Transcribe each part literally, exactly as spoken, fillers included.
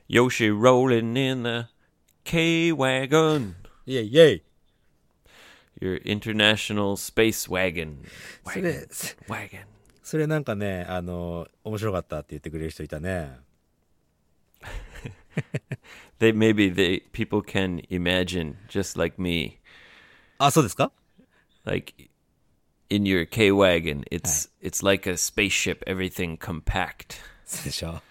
Yoshi rolling in the K-Wagon. イェイイェイ Your international space wagon. それ Wagon. それなんかねあの面白かったって言ってくれる人いたね They maybe they people can imagine just like me. あそうですか Like in your K-Wagon, it's it's like a spaceship, everything compact. そうでしょ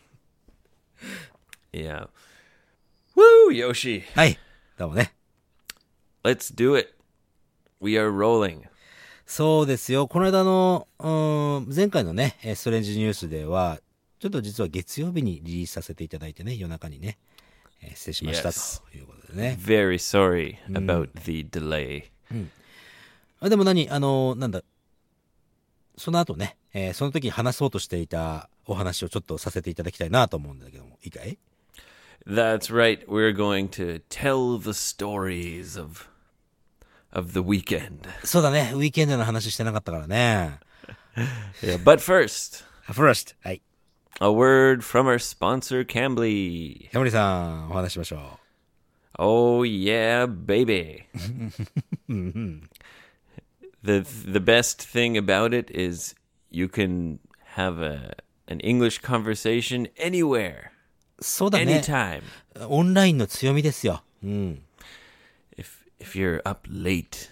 Yeah. Woo, Yoshi. はいどうもね Let's do it. We are rolling. そうですよこの間のうーん前回のねストレンジニュースではちょっと実は月曜日にリリースさせていただいてね夜中にね、えー、失礼しました、 Yes. ということでね Very sorry about the delay. あでも何あのなんだその後ね、えー、その時に話そうとしていたお話をちょっとさせていただきたいなと思うんだけどもいいかい That's right. We're going to tell the stories of of the weekend. そうだねウィーケンドの話してなかったからね Yeah, but first, First はい a word from our sponsor, Cambly. ヤモリさんお話ししましょう Oh yeah, baby. the the best thing about it is you can have a an English conversation anywhere, そうだね anytime. オンラインの強みですようん If if you're up late,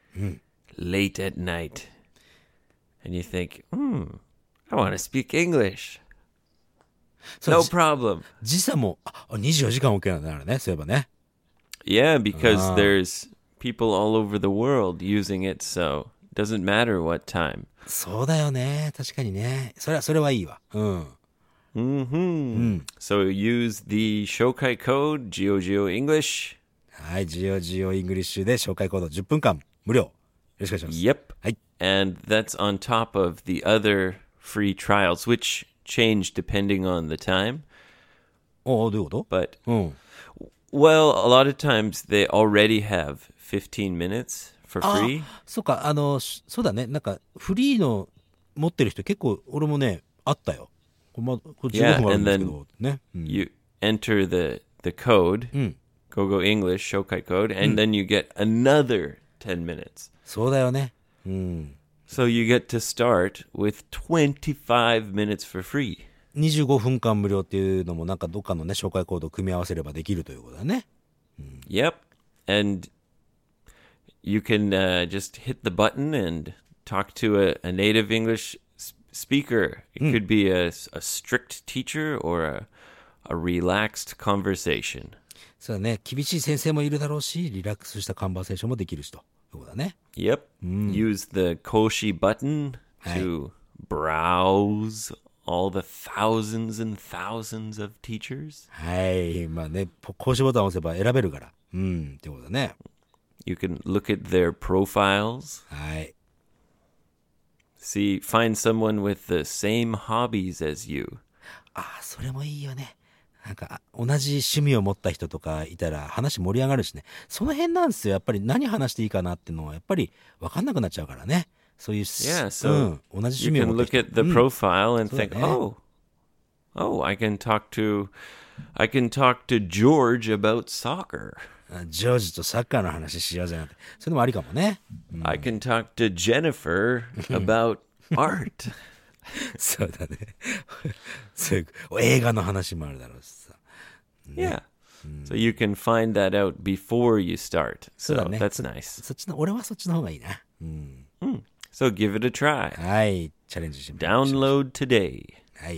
late at night, and you think, hmm, I want to speak English. そう No じ problem. 時差もあにじゅうよじかん OK なんだからねそういえばね Yeah, because there's people all over the world using it, so it doesn't matter what time. そうだよね確かにねそれはそれはいいわうん Mm-hmm. So use the Shokai code, GeoGeoEnglish. はいジオジオイングリッシュで紹介コードじゅっぷんかん無料よろしくお願いします Yep. はい And that's on top of the other free trials, which change depending on the time. おおどういうこと But, うん well, a lot of times they already have fifteen minutes for あ free. そうかあのしそうだねなんかフリーの持ってる人結構俺もねあったよこれ、ま、これじゅうごふんあるんですけど、ね、うん、 You enter the, the code, GoGo English, Shokai code, and then you get another ten minutes. そうだよねうん So you get to start with twenty-five minutes for free. にじゅうごふんかん無料っていうのもなんかどっかのね紹介コードを組み合わせればできるということだね Yep. And you can uh, just hit the button and talk to a, a native English s- speaker. It could be a, a strict teacher or a, a relaxed conversation. そうだね厳しい先生もいるだろうしリラックスしたカンバーセーションもできるしということだね Yep. Use the Koshi button to browse all the thousands and thousands of teachers. はいまあねポ講師ボタンを押せば選べるからうんってことだね You can look at their profiles. はい See, find someone with the same hobbies as you. ああそれもいいよねなんか同じ趣味を持った人とかいたら話盛り上がるしねその辺なんですよやっぱり何話していいかなっていうのはやっぱり分かんなくなっちゃうからねそういう Yeah, う so ん、同じ you 趣味を can 持った look 人 at the profile and think, yeah. oh, oh, I can talk to, I can talk to George about soccer. あジョージとサッカーの話しようぜなんてそれもありかもね I can talk to Jennifer about art. そうだねそういう映画の話もあるだろうしさ Yeah. So you can find that out before you start. そう So だね that's nice. そっちの俺はそっちの方がいいな、うん、 So give it a try. はいチャレンジしてみましょう Download today. はい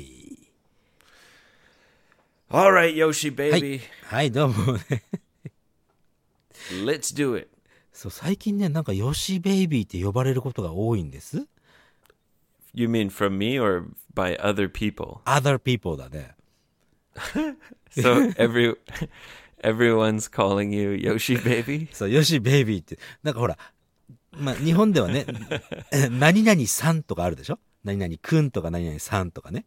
All right, Yoshi はい baby. はいどうもね Let's do it. そう最近ねなんかヨシベイビーって呼ばれることが多いんです You mean from me or by other people? other people だね So every everyone's calling you Yoshi baby? そうヨシベイビーってなんかほらまあ日本ではね何々さんとかあるでしょ何々くんとか何々さんとかね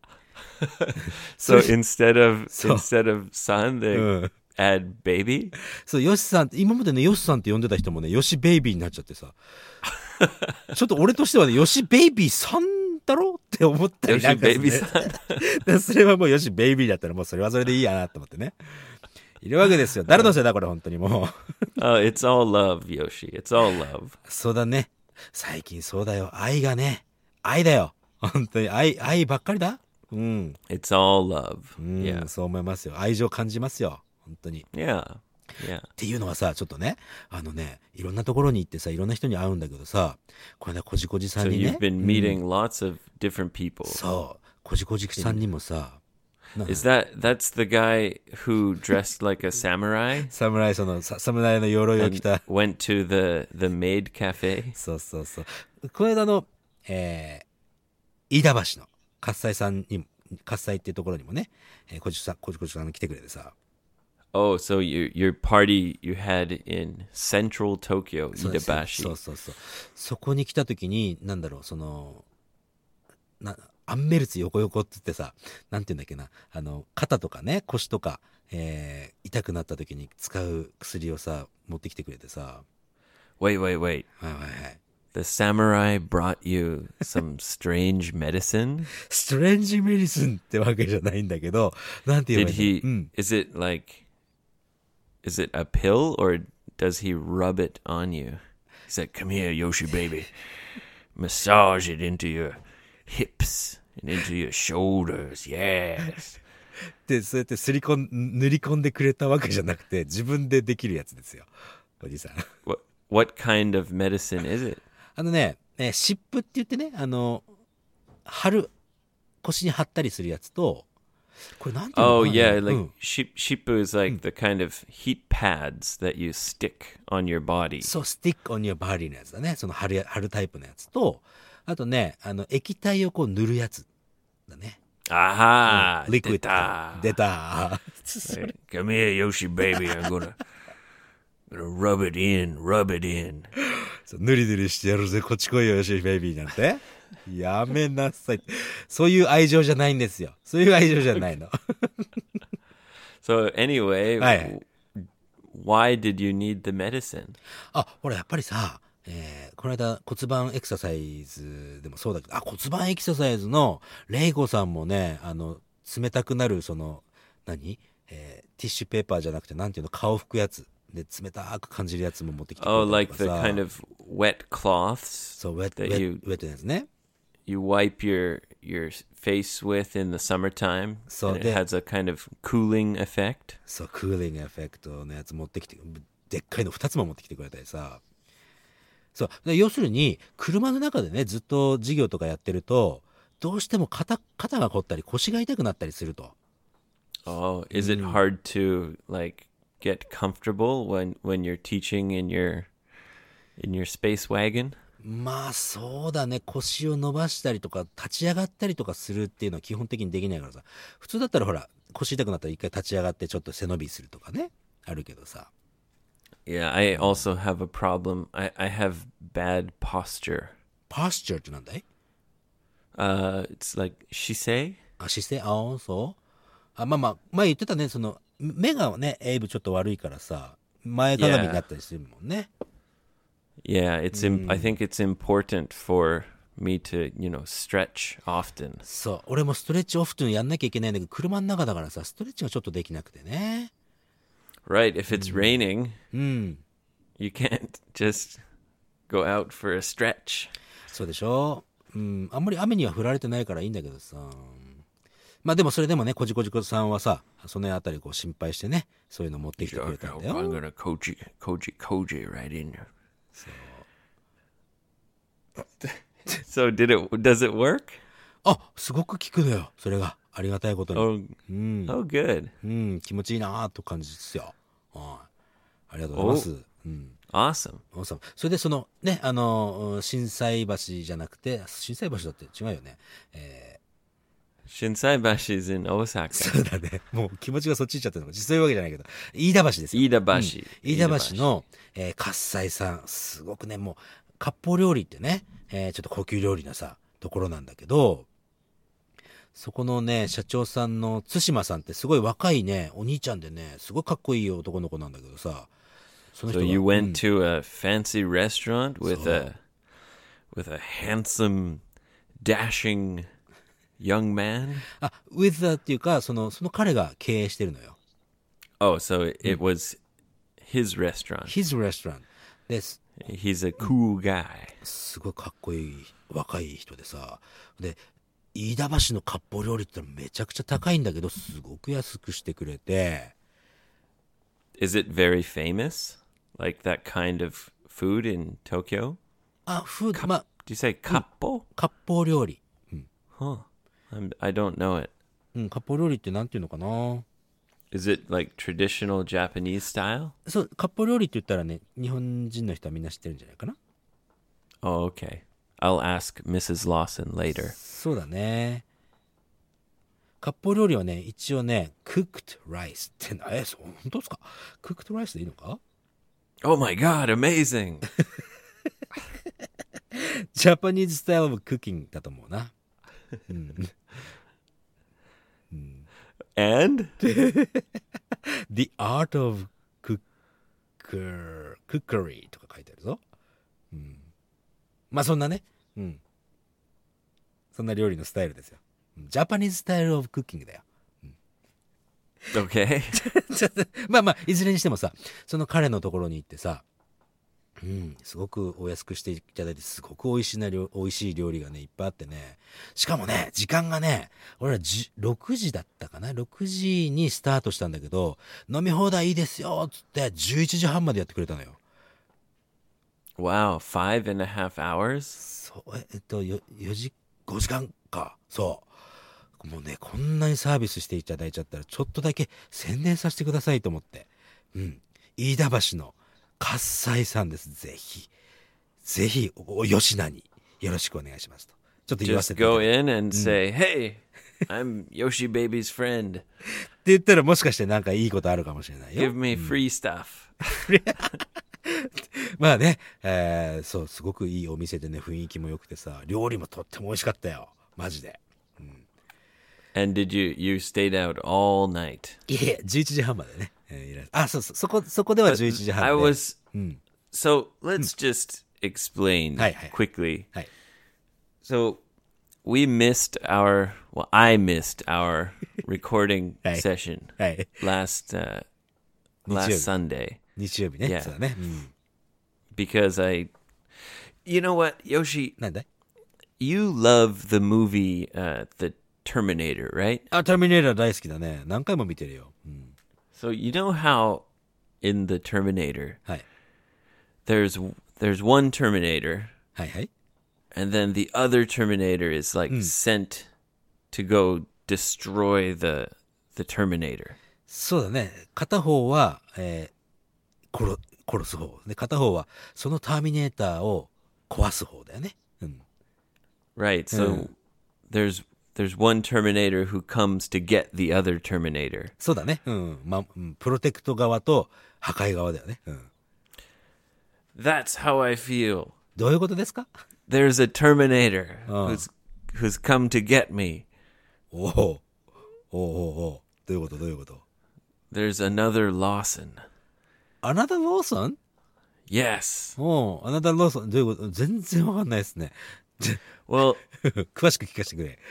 So instead of So- instead of son, they うん add baby? そうヨシさんって今までねヨシさんって呼んでた人もねヨシベイビーになっちゃってさちょっと俺としてはねヨシベイビーさん太郎って思ったりなんかする、ね、 ヨシベイビーさんそれはもうヨシベイビーだったらもうそれはそれでいいやなと思ってねいるわけですよ。誰のせいだこれ本当にもう Oh, it's all love, Yoshi. It's all love. そうだね。最近そうだよ。愛がね。愛だよ。本当に愛、愛ばっかりだ。うん。 It's all love. うん、 Yeah. そう思いますよ。愛情感じますよ。本当に。 Yeah. Yeah. っていうのはさ、ちょっとね、あのね、いろんなところに行ってさ、いろんな人に会うんだけどさ、これね、こじこじさん So にね。 you've been meeting lots of different people. そう。こじこじさんにもさ、 Is that that's the guy who dressed like a samurai 侍、その、さ侍の鎧を着 and た。 went to the the maid cafe? そうそうそう。この間の、えー、飯田橋の喝采さんにも、喝采っていうところにもね、えー、こじさん、こじこじさんが来てくれてさ。 Oh, so your your party you had in central Tokyo, そうですよ Iidabashi. そうそうそう。そこに来た時に、なんだろう、その、な、アンメルツ横横って言ってさ、なんて言うんだっけな、あの、肩とかね、腰とか、えー、痛くなった時に使う薬をさ、持ってきてくれてさ。 Wait, wait, wait. はいはいはい。 The samurai brought you some strange medicine? ストレンジメディスンってわけじゃないんだけど、なんて言えば Did いい he の、うん、 is it like is it a pill or does he rub it on you? He said, "Come here, Yoshi baby. Massage it into your hips and into your shoulders." Yes. で、そうやってすり込ん、塗り込んでくれたわけじゃなくて、自分でできるやつですよ。おじさん。 What what kind of medicine is it? あのね、えー、湿布って言ってね、あの、貼る、腰に貼ったりするやつと、これなんていうの Oh かな、 yeah, う like ん、 ship, shippu is like the kind of heat pads that you stick on your body. そう、スティックオンニューバディのやつだね。その貼るや、貼るタイプのやつと、あとね、あの、液体をこう塗るやつだね。 Aha! リクイッド。 出た。 出た。 Hey, come here, Yoshi baby. I'm gonna gonna rub it in, rub it in. そうぬりぬりしてやるぜ、こっち来いよ、よしベイビーなんて。やめなさい。そういう愛情じゃないんですよ。そういう愛情じゃないの。 So anyway, はいはい。 why did you need the medicine? あ、ほら、やっぱりさ、えーこの間骨盤エクササイズでもそうだけど、あ、骨盤エクササイズのレイコさんもね、あの、冷たくなる、その、何、えーティッシュペーパーじゃなくて、なんていうの、顔拭くやつ。で、冷たく感じるやつも持ってきてくれた Oh, り like と the かさ。 kind of wet cloths そう、ウェット、ウ that ェ you ット、ウェットのやつね。 you wipe your your face with in the summertime, So and it the- has a kind of cooling effect. そう、クーリングエフェクトのやつ持ってきて、でっかいのふたつも持ってきてくれたりさ。そう。で要するに、車の中でね、ずっと授業とかやってると、どうしても肩、肩が凝ったり腰が痛くなったりすると。 Oh, is it hard to like get comfortable when when you're teaching in your in your space wagon? まあそうだね、腰を伸ばしたりとか立ち上がったりとかするっていうのは基本的にできないからさ。普通だったらほら、腰痛くなったら一回立ち上がってちょっと背伸びするとかね、あるけどさ。 Yeah, I also have a problem. I I have bad posture. パスチャーってなんだい？ Uh, it's like shise. あ、姿勢、ああ、そう。あ、まあまあ、前言ってたね、その、目がね、エイブちょっと悪いからさ、前かがみになったりするもんね。 Yeah, it's. Im- I think it's important for me to, you know, stretch often. そう。俺もストレッチオフトゥンやんなきゃいけないんだけど、車の中だからさ、ストレッチがちょっとできなくてね。 Right. If it's raining, うん。 you can't just go out for a stretch. そうでしょ。うん。あんまり雨には降られてないからいいんだけどさ。まあでもそれでもね、こじこじこさんはさ、そのあたりこう心配してね、そういうの持ってきてくれたんだよ。 I'm gonna koji koji koji right in there. So did it? Does it work? あ、すごく効くのよ。それが。ありがたいことに。 Oh, うん。 oh, good, うん、気持ちいいなーと感じですよ。はい。ありがとうございます。うん。 awesome. おさんそれでそのね、あの、心斎橋じゃなくて、心斎橋だって違うよね。え Shinsaibashi is in ー、 Osaka. そうだね。もう気持ちがそっち行っちゃってるのか。実際いうわけじゃないけど。飯田橋ですよ。 Iidabashi. 飯田橋の、えー、喝采さん。すごくね、もう、割烹料理ってね、えー、ちょっと高級料理なさ、ところなんだけど、そこのね、社長さんの対馬さんってすごい若いね、お兄ちゃんでね、すごいかっこいい男の子なんだけどさ、その So 人が you うん went to a fancy restaurant with a with a handsome dashing young man? あ、with the っていうか、その、その彼が経営してるのよ。 Oh, so it, it was his restaurant. his restaurant です。 He's a cool guy. すごいかっこいい若い人でさ。で、飯田橋の割烹料理ってめちゃくちゃ高いんだけど、すごく安くしてくれて。 Is it very famous? Like that kind of food in Tokyo? あ、フード、まあ、 Do you say kappo? 割烹料理。 Huh. I'm, I don't know it. うん、割烹料理ってなんていうのかな。 Is it like traditional Japanese style? そう、割烹料理って言ったらね、日本人の人はみんな知ってるんじゃないかな。 Oh, okay. I'll ask Missus Lawson later. そうだね。割烹料理はね、一応ね、cooked rice ってな、え、そう、本当ですか？ cooked rice でいいのか？ Oh my god, amazing! Japanese style of cooking だと思うな。うん。 And? The art of cooker, cookery とか書いてあるぞ。うん。まあそんなね。うん。そんな料理のスタイルですよ。Japanese style of cooking だよ。 Okay. まあまあ、いずれにしてもさ、その彼のところに行ってさ、うん、すごくお安くしていただいて、すごく美味しいな料、美味しい料理がね、いっぱいあってね。しかもね、時間がね、俺らろくじだったかな ?ろく 時にスタートしたんだけど、飲み放題いいですよつってじゅういちじはんまでやってくれたのよ。 Wow, five and a half hours? そう、ええっと、よじ、ごじかんか。そう。もうね、こんなにサービスしていただいちゃったら、ちょっとだけ宣伝させてくださいと思って。うん。飯田橋の喝采さんです。ぜひ。ぜひ、お吉名によろしくお願いしますと。ちょっと言わせ Just ていただ go いて。 in and say, hey, I'm Yoshi Baby's friend. って言ったらもしかしてなんかいいことあるかもしれないよ。 Give me free stuff. まあね、えー、そう、すごくいいお店でね、雰囲気も良くてさ、料理もとっても美味しかったよ。マジで。 And did you, you stayed out all night? いえ、じゅういちじはんまでね。えーいらあ、そうそう、そこ、そこではじゅういちじはんで。 I was, so let's just explain はいはい。 quickly. はい。 So we missed our, well, I missed our recording はい。 session はい。 last, uh, 日曜 last 日。 Sunday 日曜日ね。 Yeah. そうだね。うん。 because I, you know what, Yoshi, なんだい？ you love the movie, uh, The Terminator, right? あ、ターミネーター大好きだね。何回も見てるよ。うん。 So you know how in The Terminator はい。 there's there's one Terminator はいはい。 and then the other Terminator is like sent to go destroy the the Terminator. そうだね。片方は、えー、殺、殺す方。で、片方は、そのターミネーターを壊す方だよね。うん。 Right. So there's there's one Terminator who comes to get the other Terminator. そうだね。うん。ま、うん。プロテクト側と破壊側だよね。うん。 That's how I feel. どういうことですか？ There's a Terminator who's who's come to get me. おお。おおおお。どういうことどういうこと？ There's another Lawson. アナダーローソン？ Yes. おお、アナダーローソン。どういうこと？全然わかんないですね。 Well, 詳しく聞かせてくれ。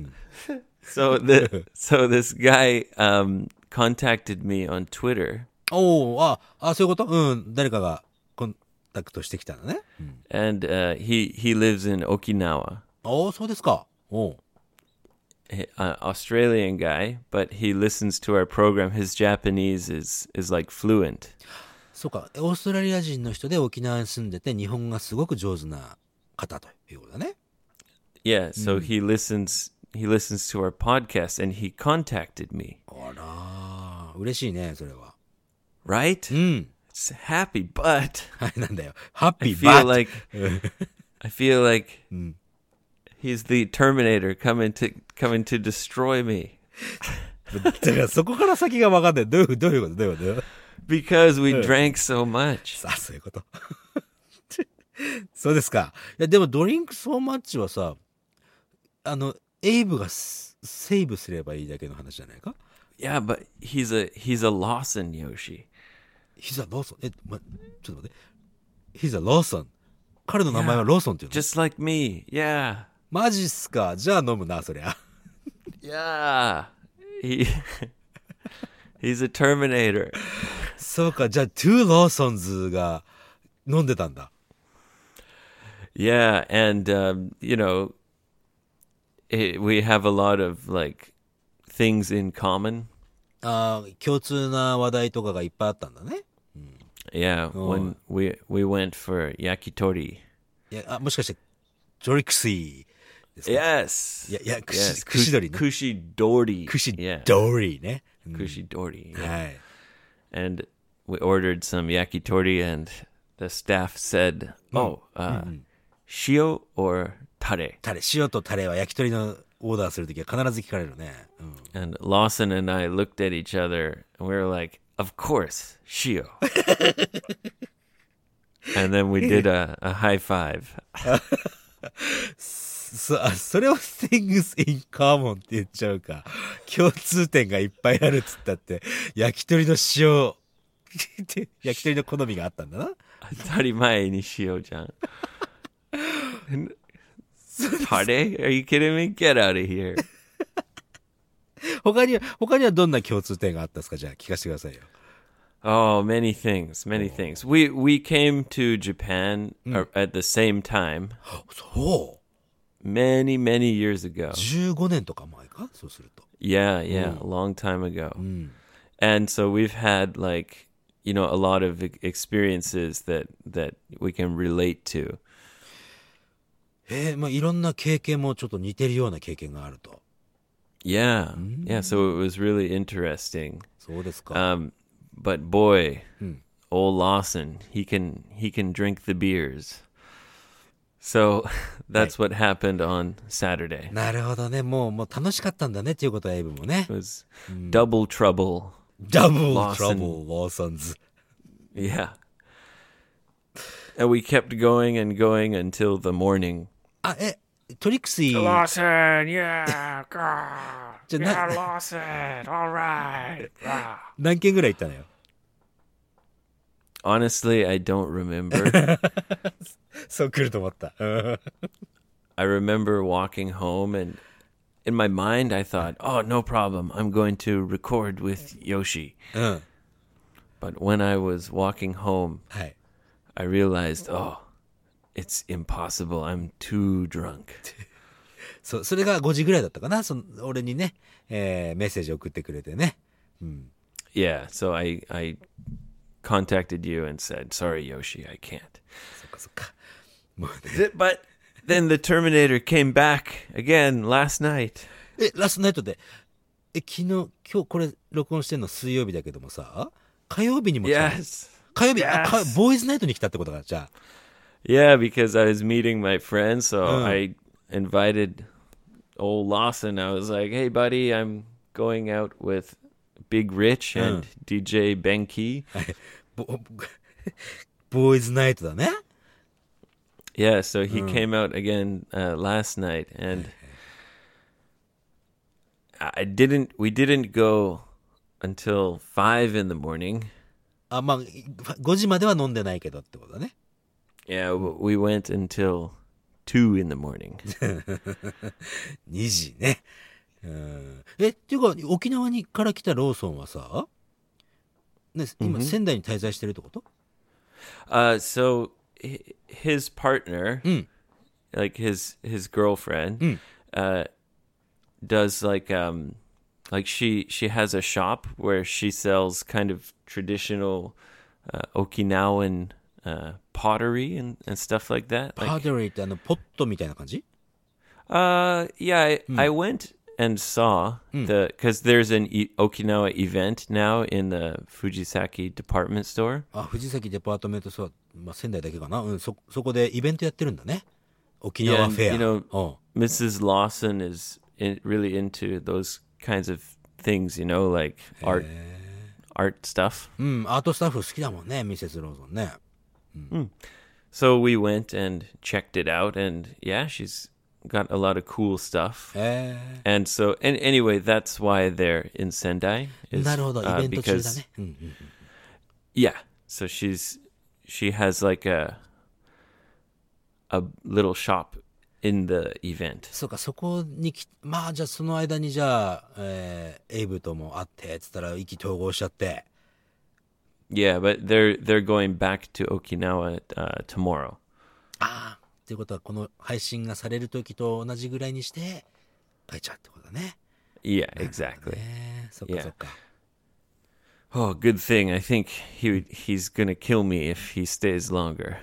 so the so this guy um contacted me on Twitter. おお、あ、あ、そういうこと？うん。誰かがコンタクトしてきたのね。うん、 And uh, he he lives in Okinawa. おお、そうですか。おお。 An Australian guy, but he listens to our program. His Japanese is is like fluent. そうか。オーストラリア人の人で沖縄に住んでて日本がすごく上手な方ということだね。 Yeah, so he listens he listens to our podcast and he contacted me. あらー、嬉しいね、それは。 Right? うん。 It's happy, but はい、なんだよ。ハッピ I ーバ feel ー like I feel like he's the Terminator coming to coming to destroy me. だからそこから先が分かんない。どういうどういうことどういうこと？ Because we drank so much. さあ、そういうこと。そうですか。いや、でもドリンクソーマッチはさ、あの、エイブがセーブすればいいだけの話じゃないか？ Yeah, but he's a he's a Lawson Yoshi. He's a Lawson. え、ま、ちょっと待って。He's a Lawson. 彼の名前はローソンっていうの？ Just like me. Yeah. マジっすか。じゃあ飲むな、そりゃ。 Yeah. He he's a Terminator. そうか、じゃあ、トゥーローソンズが飲んでたんだ。 Yeah, and um, you know, it, we have a lot of like things in common. ああ、共通な話題とかがいっぱいあったんだね。 Yeah, when we we went for yakitori. いや、あ、もしかして、ジョリクシーですか？ Yes. いや、いや、串、 Yes. 串取りね。 Kushidori. 串 Yeah. ドリね。うん Kushidori. Yeah. はい。 And we ordered some yakitori, and the staff said, "Oh, uh, shio or tare?" タレ、塩とタレは焼き鳥のオーダーするときは必ず聞かれるね。うん。 And Lawson and I looked at each other, and we were like, "Of course, shio." And then we did a, a high five. そ、あそれを things in common って言っちゃうか。共通点がいっぱいあるっつったって、焼き鳥の塩、焼き鳥の好みがあったんだな。 当たり前にしようじゃん。Tare? Are you kidding me? Get out of here. 他には、他にはどんな共通点があったんですか？じゃあ聞かせてくださいよ。 Oh, many things, many things. We we came to Japan uh, at the same time そう many, many years ago. じゅうごねんとか前かそうすると。 Yeah, yeah, a long time ago. And so we've had like, you know, a lot of e- experiences that that we can relate to. えー、まあいろんな経験もちょっと似てるような経験があると。 Yeah. Yeah, so it was really interesting. そうですか。 Um but boy, old Lawson, he can he can drink the beers. So that's what happened on Saturday. なるほどね。もう、もう楽しかったんだねっていうことはエイブもね It。was double trouble. ダブルト Lawson ラブル、ローソンズ。 Yeah. And we kept going and going until the morning. あ、え、トリクシー。 Lawson, yeah, God. じゃな Lawson, all right. 何件ぐらい行ったのよ。 Honestly, I don't remember. そう来ると思った。うん I remember walking home and in my mind I thought, oh, no problem. I'm going to record with Yoshi. うん。 But when I was walking home, はい。 I realized, oh, it's impossible. I'm too drunk. そう、それがごじぐらいだったかな。その俺にね、えーメッセージ送ってくれてね。 Yeah, so I I contacted you and said, sorry, Yoshi, I can't. そっかそっか。もうね。 Th- But then the Terminator came back again last night. え、ラストナイトで、え、昨日、今日これ録音してんの水曜日だけどもさ、火曜日にも来たの？ Yes. 火曜日、あ、 Yes. かボーイズナイトに来たってことか、じゃあ。 Yeah, because I was meeting my friends, so I invited old Lawson. I was like, hey, buddy, I'm going out with Big Rich and D J Benki. ボボーイズナイトだね。 Yeah, so he came out again uh, last night, and I didn't. We didn't go until five in the morning. あ、まあ、ごじまでは飲んでないけどってことだね。 Yeah, w- we went until two in the morning. にじね。うん。え、っていうか、沖縄にから来たローソンはさ、ね、今、仙台に滞在してるってこと？ Uh, so hi- his partner, like his his girlfriend, uh, does like um, like she she has a shop where she sells kind of traditional uh, Okinawan uh, pottery and, and stuff like that. パ Like, ードリーってあの、ポットみたいな感じ？ uh, yeah, I, I went and saw the because there's an e- Okinawa event now in the Fujisaki department store. あ、藤崎デパートメントストア、まあ、仙台だけかな。うん、そ、そこでイベントやってるんだね。沖 Yeah, 縄 and, フェア。 you know, うん。 Missus Lawson is in, really into those kinds of things, you know, like art, art stuff. うん、アートスタッフ好きだもんね、ミセスローソンね。 So we went and checked it out, and yeah, she's got a lot of cool stuff. え And so, and anyway, that's why they're in Sendai. ー、 Is, なるほど、イ uh, ベント中だ because ね。うんうんうん。 yeah, so she's she has like a a little shop in the event. そうか、そこにき、まあ、じゃあその間にじゃあ、えーエイブとも会って、つったら意気投合しちゃって。 Yeah, but they're they're going back to Okinawa uh, tomorrow. ああ、っていうことはこの配信がされる時と同じぐらいにして帰っちゃうってことだね。 Yeah, exactly. ね、そっか Yeah. そっか。 Oh, good thing. I think he would- he's gonna kill me if he stays longer.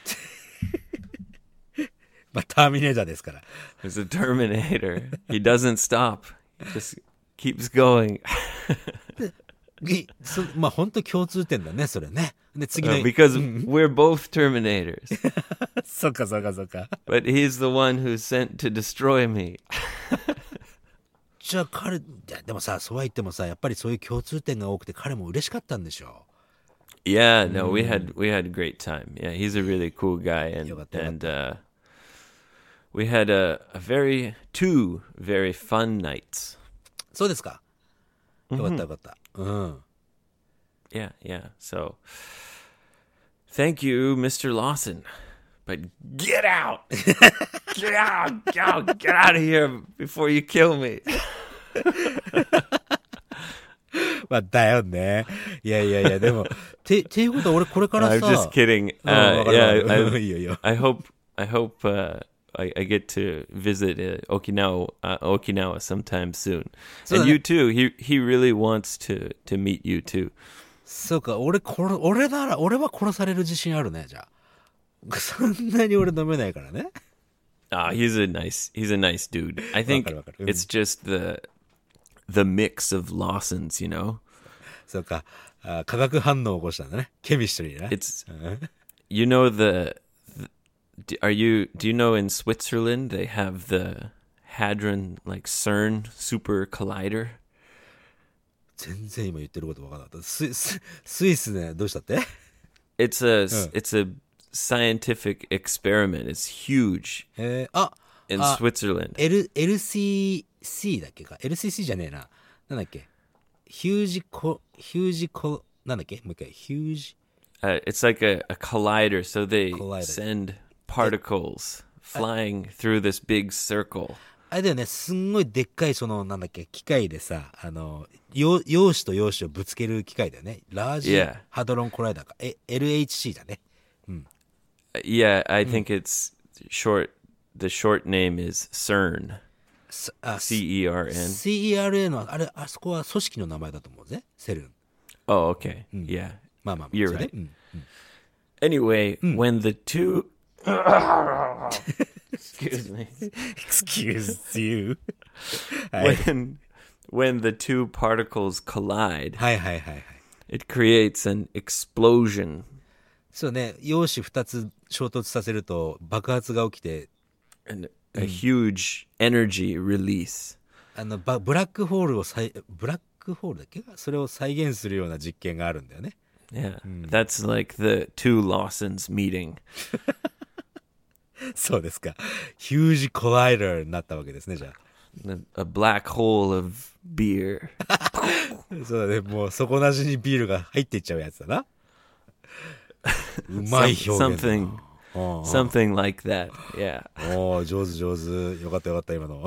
まあターミネーターですから。 He's a Terminator. He doesn't stop. He just keeps going. いそまあ本当共通点だね、それね。で次の、 Uh, because we're both Terminators. そっかそっかそっか。 But he's the one who's sent to destroy me. じゃあ彼、いやでもさ、そうは言ってもさ、やっぱりそういう共通点が多くて彼も嬉しかったんでしょ Yeah, no, we had we had a great time. Yeah, he's a really cool guy, and よかったよかっ and uh, we had a, a very two very fun nights. う。そうですか。よかったよかった。うん。 Yeah, yeah. So, thank you, Mister Lawson. But get out, get out, get out, get out of here before you kill me. まあだよね。いやいやいや、でも、て、ていうことは俺これからさ。 I'm just kidding. うん、 Uh, わかるわかる yeah, いいよいいよ。 I, I hope I hope uh, I, I get to visit uh, Okinawa uh, Okinawa sometime soon. So and that- you too. He he really wants to to meet you too. そうか、俺、これ、俺なら、俺は殺される自信あるね、じゃあ。そんなに俺飲めないからね。 Ah, he's a nice he's a nice dude. I think Wakaru, wakaru. it's just the the mix of Lawsons, you know. そうか、あ、化学反応を起こしたんだね。ケミストリーね。 It's you know the, the do- are you do you know in Switzerland they have the Hadron like CERN super collider? 全然今言ってること分からなかった。ス、ス、スイスね、どうしたって？ It's a it's a scientific experiment. It's huge えー、あ、 in あ Switzerland. L、エルシーシー だっけか。エルシーシー じゃねえな。なんだっけ。ヒュージコ、ヒュージコ、なんだっけもう一回。ヒュージ、 Uh, it's like a, a collider, so they Collider. send particles flying through this big circle. あれだよね、すんごいでっかいその、なんだっけ、機械でさ、あの、陽陽子と陽子をぶつける機械だよね。ラージ Yeah. ハドロンコライダーか。え、エルエイチシー だね。 Uh, yeah, I think it's short. The short name is CERN. すあ、 C E R N. シーイーアールエー の、あれ、あそこは組織の名前だと思うぜ。セルン。 Oh, okay. Yeah. まあまあまあ。 You're それで right. うん Anyway, when the two excuse me. Excuse you. はい。 When when the two particles collide, はいはいはいはい。 it creates an explosion. そうね、陽子二つ衝突させると爆発が起きて、 And a huge energy release. あの、バブラックホールを再、ブラックホールだっけそれを再現するような実験があるんだよね。 Yeah, that's like the two Lawsons meeting. そうですか。ヒュージコライダーになったわけですね、じゃ A, a black hole of beer. あ。そうだね、もう底なしにビールが入っていっちゃうやつだな。うまい Some- 表現だな。 something, うんうん something like that. Yeah. おー、上手上手。よかったよかった、今の。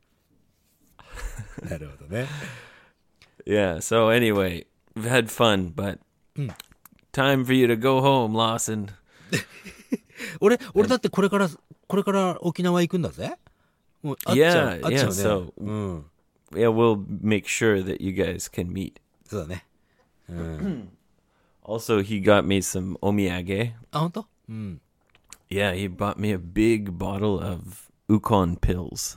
なるほどね。 Yeah. So anyway, we've had fun, but time for you to go home, Lawson. 俺、俺だってこれから、これから沖縄行くんだぜ。もう、あっちゃう、 Yeah, あっちゃう yeah, ね。 so- うん。 Yeah, we'll make sure that you guys can meet. そうだね。うん。 Also, he got me some omiyage. あ、ほんと？うん。 Yeah, he bought me a big bottle of Ukon pills.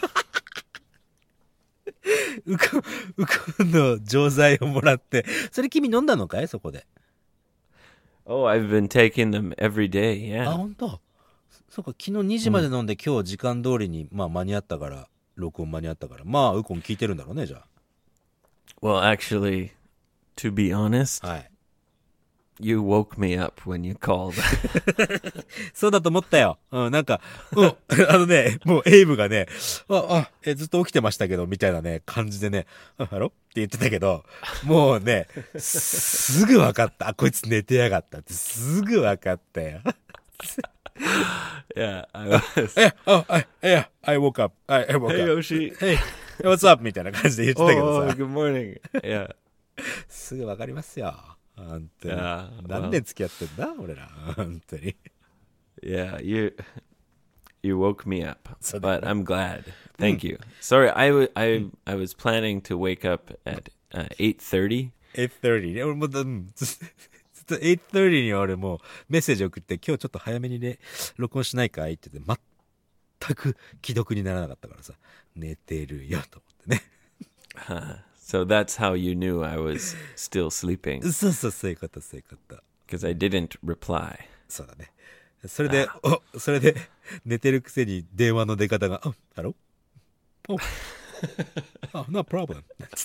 うこ、うこの錠剤をもらって。それ君飲んだのかいそこで。 Oh, I've been taking them every day. あ、 Yeah. ほんと？そっか、昨日にじまで飲んで、今日時間通りに、まあ間に合ったから、録音間に合ったから。まあ、ウコン聞いてるんだろうね、じゃ Well, actually, to be honest, あ。はい。 you woke me up when you called. そうだと思ったよ。うん、なんか、うん、あのね、もうエイブがね、あ、あ、え、ずっと起きてましたけど、みたいなね、感じでね、あ、ハロって言ってたけど、もうね、すぐ分かった。あ、こいつ寝てやがったって、すぐ分かったよ。 Yeah, I was. Yeah, oh, I, yeah, I woke up. I, I woke Hey, up. Yoshi. Hey, what's up? みたいな感じで言ってたけど Oh, さ。 good morning. Yeah. すぐわかりますよ。本当に。 Yeah, 何 well, 年付き合ってんだ俺ら。本当に。 yeah, you you woke me up, So but that- I'm glad. Thank you. Sorry, I, w- I, I was planning to wake up at uh, eight thirty. エイトサーティーね。俺もう、うんずずっとエイトサーティーに俺もうメッセージ送って、今日ちょっと早めにね、録音しないかいって言って、全く既読にならなかったからさ、寝てるよと思ってね。 Uh, so that's how you knew I was still sleeping, そうそう、そういうこと、そういうこと。 because I didn't reply. そうだね。それで、お、それで、寝てるくせに電話の出方が、あ、ハローお、あ、no problem なんつって。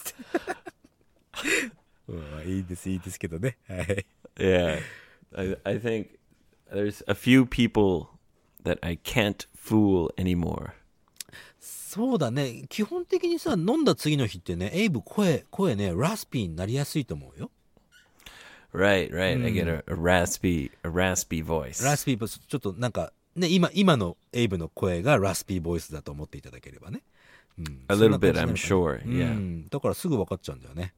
うん、いいです、いいですけどね。はい。 Yeah, I, I think there's a few people that I can't fool anymore. そうだね。基本的にさ、飲んだ次の日ってね、エイブ声、声ね、ラスピーになりやすいと思うよ。 Right, right. I get a, a raspy, a raspy voice. ラスピーボイス、ちょっとなんか、ね、今、今のエイブの声がラスピーボイスだと思っていただければね。うん、 A そんな little bit, 感 I'm じなのか sure. な。 Yeah. うん、だからすぐ分かっちゃうんだよね。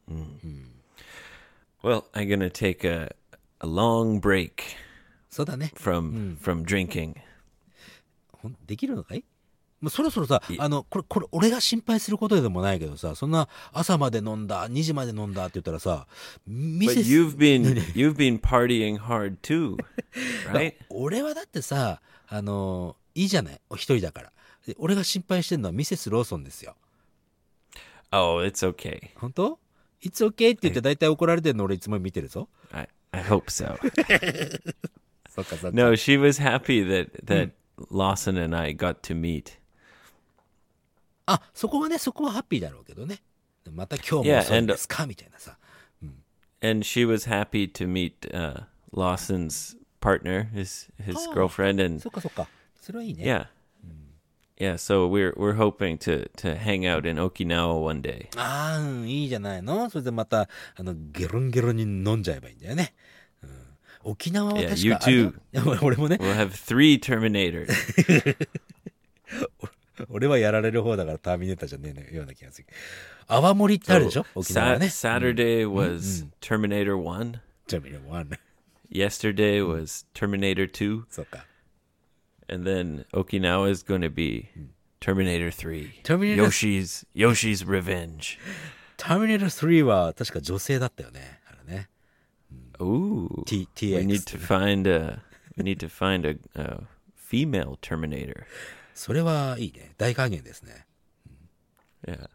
Well, I'm gonna take a a long break そうだね。 from from drinking. ほんできるのかい？もうそろそろさ、あの、これ、これ、俺が心配することでもないけどさ、そんな朝まで飲んだ、にじまで飲んだって言ったらさ、ミ But セス、 you've been you've been partying hard too, right? 俺はだってさ、あの、いいじゃない、お一人だから。で俺が心配してるのはミセスローソンですよ。 Oh, it's okay. 本当？ It's okay って言って大体怒られてるの俺いつも見てるぞ。 I I hope so. そっかそっか。 No, she was happy that that Lawson and I got to meet. あ、そこはね、そこはハッピーだろうけどね。また今日も Yeah, 遅いん and- ですかみたいなさ。 And she was happy to meet uh, Lawson's partner, his his Oh. girlfriend, and そっかそっか。それはいいね。 yeah, yeah. So we're we're hoping to to hang out in Okinawa one day. ああ、うんいいじゃないの。それでまた、あの、ゲロンゲロンに飲んじゃえばいいんだよね。うん、沖縄は確か Yeah, you あれだ俺もね、 We'll have three Terminators. 俺はやられる方だからターミネーターじゃねえような気がする。泡盛ってあるでしょ、沖縄は Sa- ね。 Saturday was Terminator One. じゃあ見ればワン。 Yesterday was Terminator Two, そうか。 and then Okinawa is going to be Terminator Three. Terminator- Yoshi's Yoshi's Revenge. ターミネータースリーは確か女性だったよね。あれね。 Ooh, T- we need TX to find a we need to find a, a female Terminator. それはいいね。大加減ですね。 Yeah.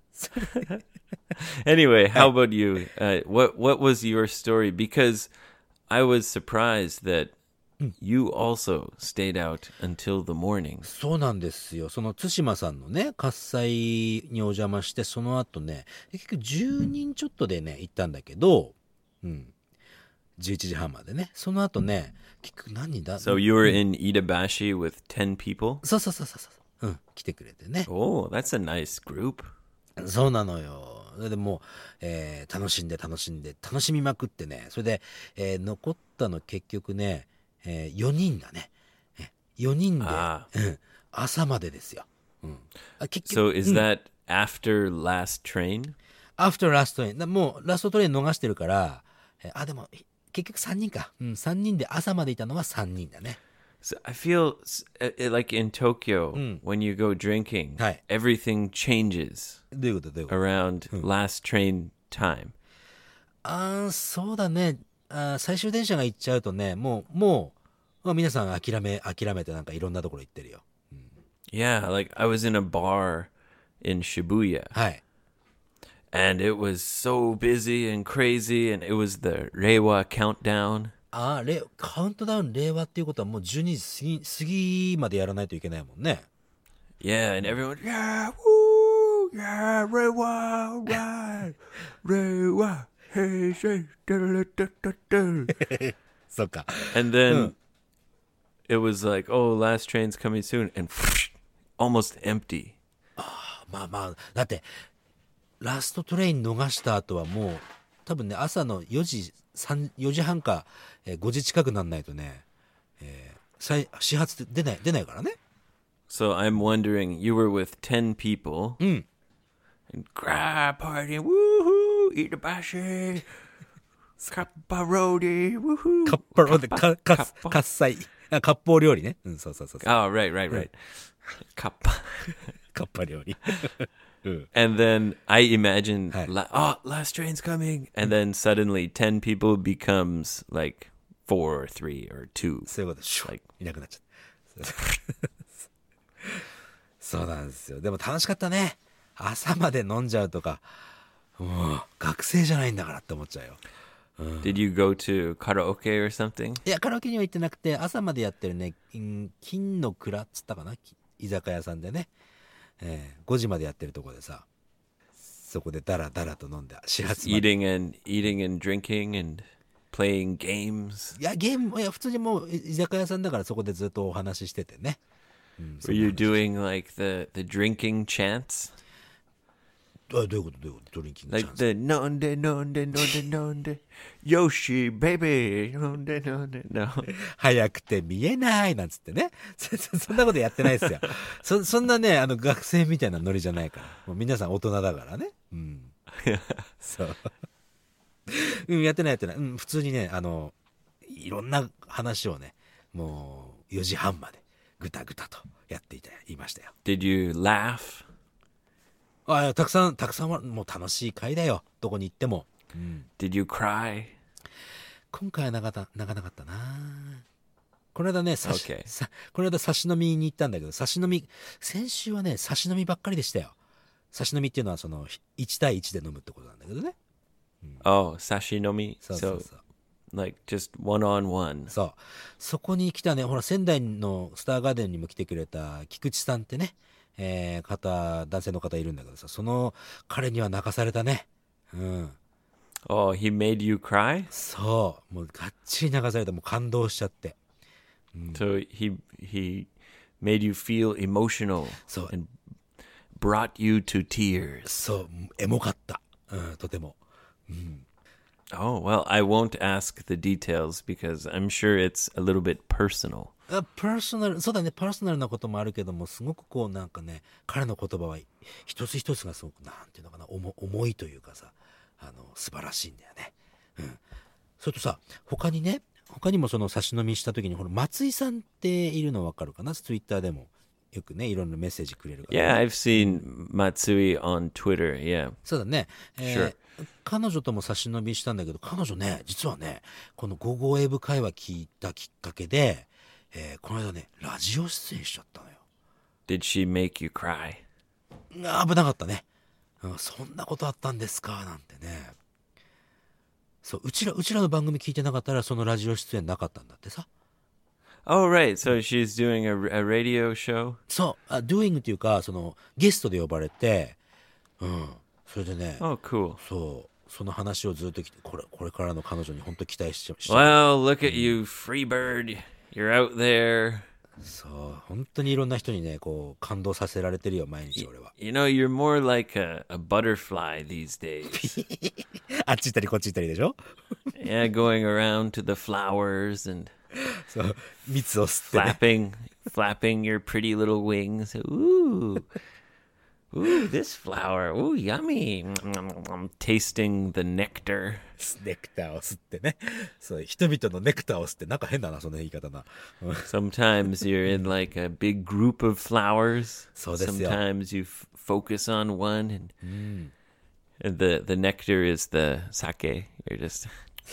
Anyway, how about you? Uh, what what was your story? Because I was surprised that you also stayed out until the morning. そうなんですよ。その対馬さんのね、喝采にお邪魔して、その後ね、結局じゅうにんちょっとでね、行ったんだけど、うん。じゅういちじはんまでね。その後ね、結局何人だ So you were in Itabashi with ten people? そうそうそうそうそう。うん。来てくれてね。 Oh, that's a nice group. そうなのよ。それでもう、えー楽しんで楽しんで、楽しみまくってね。それで、えー残ったの結局ね、えーよにんだね。えよにんで、 あうん朝までですよ。うん、あ結局、 So is that after last train? アフターラストに、もうラストトレイン逃してるから、えーあ、でも、結局さんにんか。うん、さんにんで朝までいたのはさんにんだね。 So I feel s- uh, uh, like in Tokyo when you go drinking, Hi. everything changes どういうことどういうこと around last train time. あーそうだね。あー最終電車が行っちゃうとね、もう、もう、まあ、皆さん諦め、諦めてなんかいろんなところ行ってるよ。 Yeah, like I was in a bar in Shibuya はい。 and it was so busy and crazy and it was the Reiwa countdown. ああ、れカウントダウン令和っていうことはもうじゅうにじ過ぎ、過ぎまでやらないといけないもんね。 Yeah, and everyone, yeah, woo, yeah, Reiwa, right, Reiwa, hey, say, da-da-da-da-da. そっか。 And then it was like, oh, last train's coming soon, and almost empty. まあまあ、だって、ラストトレイン逃した後はもう、多分ね、朝のよじ、さんよじはんか、えーごじ近くなんないとね、えー再始発って出ない、出ないからね。 So I'm wondering, you were with ten people. うん。 And grab party, woohoo, eat a bashi, kapparodi, woohoo. カッパロで、か、か、 kappa. 喝采。あ、割烹料理ね。うん、そうそうそうそう。 Oh, right, right, right. Kappa. カッパ料理。うん。 And then I imagine, Hi. la- oh, last train's coming. And then suddenly ten people becomes like four or three or two. そういうこと、シュッ Like- いなくなっちゃった。そうなんですよ。でも楽しかったね。朝まで飲んじゃうとか、もう学生じゃないんだからって思っちゃうよ。 Did you go to karaoke or something? いや、カラオケには行ってなくて、朝までやってるね、ん金の蔵っつったかな、き居酒屋さんでね、えーごじまでやってるとこでさ、そこでダラダラと飲んで、始発まで。 Eating and eating and drinking and playing games. いや、ゲーム、いや、普通にもう居酒屋さんだからそこでずっとお話ししててね。うん、 Were you doing like the, the drinking chants? あ、どういうことどういうことドリンキングチャ Like ンス。 the nonde nonde nonde nonde Yoshi baby nonde nonde no. 早くて見えないなんつってね。そ, そそんなことやってないですよ。そそんなね、あの学生みたいなノリじゃないから。もう皆さん大人だからね。うん。そう。うん、やってないやってない。うん、普通にね、あの、いろんな話をね、もうよじはんまでぐたぐたとやっていた、いましたよ。 Did you laugh? ああ、たくさん、たくさんは、もう楽しい会だよ。どこに行っても。うん。 Did you cry? 今回は泣かな泣かなかったな。この間ね、さし Okay. さこの間差し飲みに行ったんだけど、差し飲み、先週はね、差し飲みばっかりでしたよ。差し飲みっていうのはそのいち対いちで飲むってことなんだけどね。 Oh, sashinomi. そうそう So そう。 like just one on one. そう。そこに来たね、ほら仙台のスターガーデンにも来てくれた菊池さんってね、えー、方、男性の方いるんだけどさ、その彼には泣かされたね。うん。 Oh, he made you cry? そう。もうがっちり泣かされた。もう感動しちゃって。 So he he made you feel emotional そう。 and brought you to tears. そう。エモかった。うん、とても。 Oh, well, I won't ask the details because I'm sure it's a little bit personal. あ、パーソナル、そうだね、パーソナルなこともあるけども、すごくこうなんかね、彼の言葉は一つ一つがすごくなんていうのかな、重重いというかさ、あの素晴らしいんだよね。うん。それとさ、他にね、他にもその差し飲みした時に、ほら松井さんっているの分かるかな、ツイッターでもよくね、いろんなメッセージくれるから、 Yeah, I've seen Matsui on Twitter. Yeah. そうだね、えー Sure. 彼女とも差し飲みしたんだけど、彼女ね、実はね、このゴーゴーエブ会話聞いたきっかけで、えーこの間ね、ラジオ出演しちゃったのよ。 Did she make you cry? あ、危なかったね、うん、そんなことあったんですかなんてね。そう、うちらうちらの番組聞いてなかったらそのラジオ出演なかったんだってさ。 Oh, right. So she's doing a, a radio show? そう、あ doing っていうか、そのゲストで呼ばれて、うん、それでね、 Oh, cool. そうその話をずっときて、これこれからの彼女に本当期待しちゃしちゃう。 Well, look at you, Freebird. You're out there. そう本当にいろんな人にね、こう感動させられてるよ毎日俺は。 You know, you're more like a, a butterfly these days. あっち行ったりこっち行ったりでしょ。 Yeah, going around to the flowers and そう蜜を吸ってね。 flapping, flapping your pretty little wings. Ooh, ooh, this flower. Ooh, yummy. I'm tasting the nectar. ネクターを吸ってね。そう人々のネクターを吸って、なんか変だなその言い方な。うん Sometimes you're in like a big group of flowers. そうですよ。 Sometimes you f- focus on one, and, and the the nectar is the sake. You're just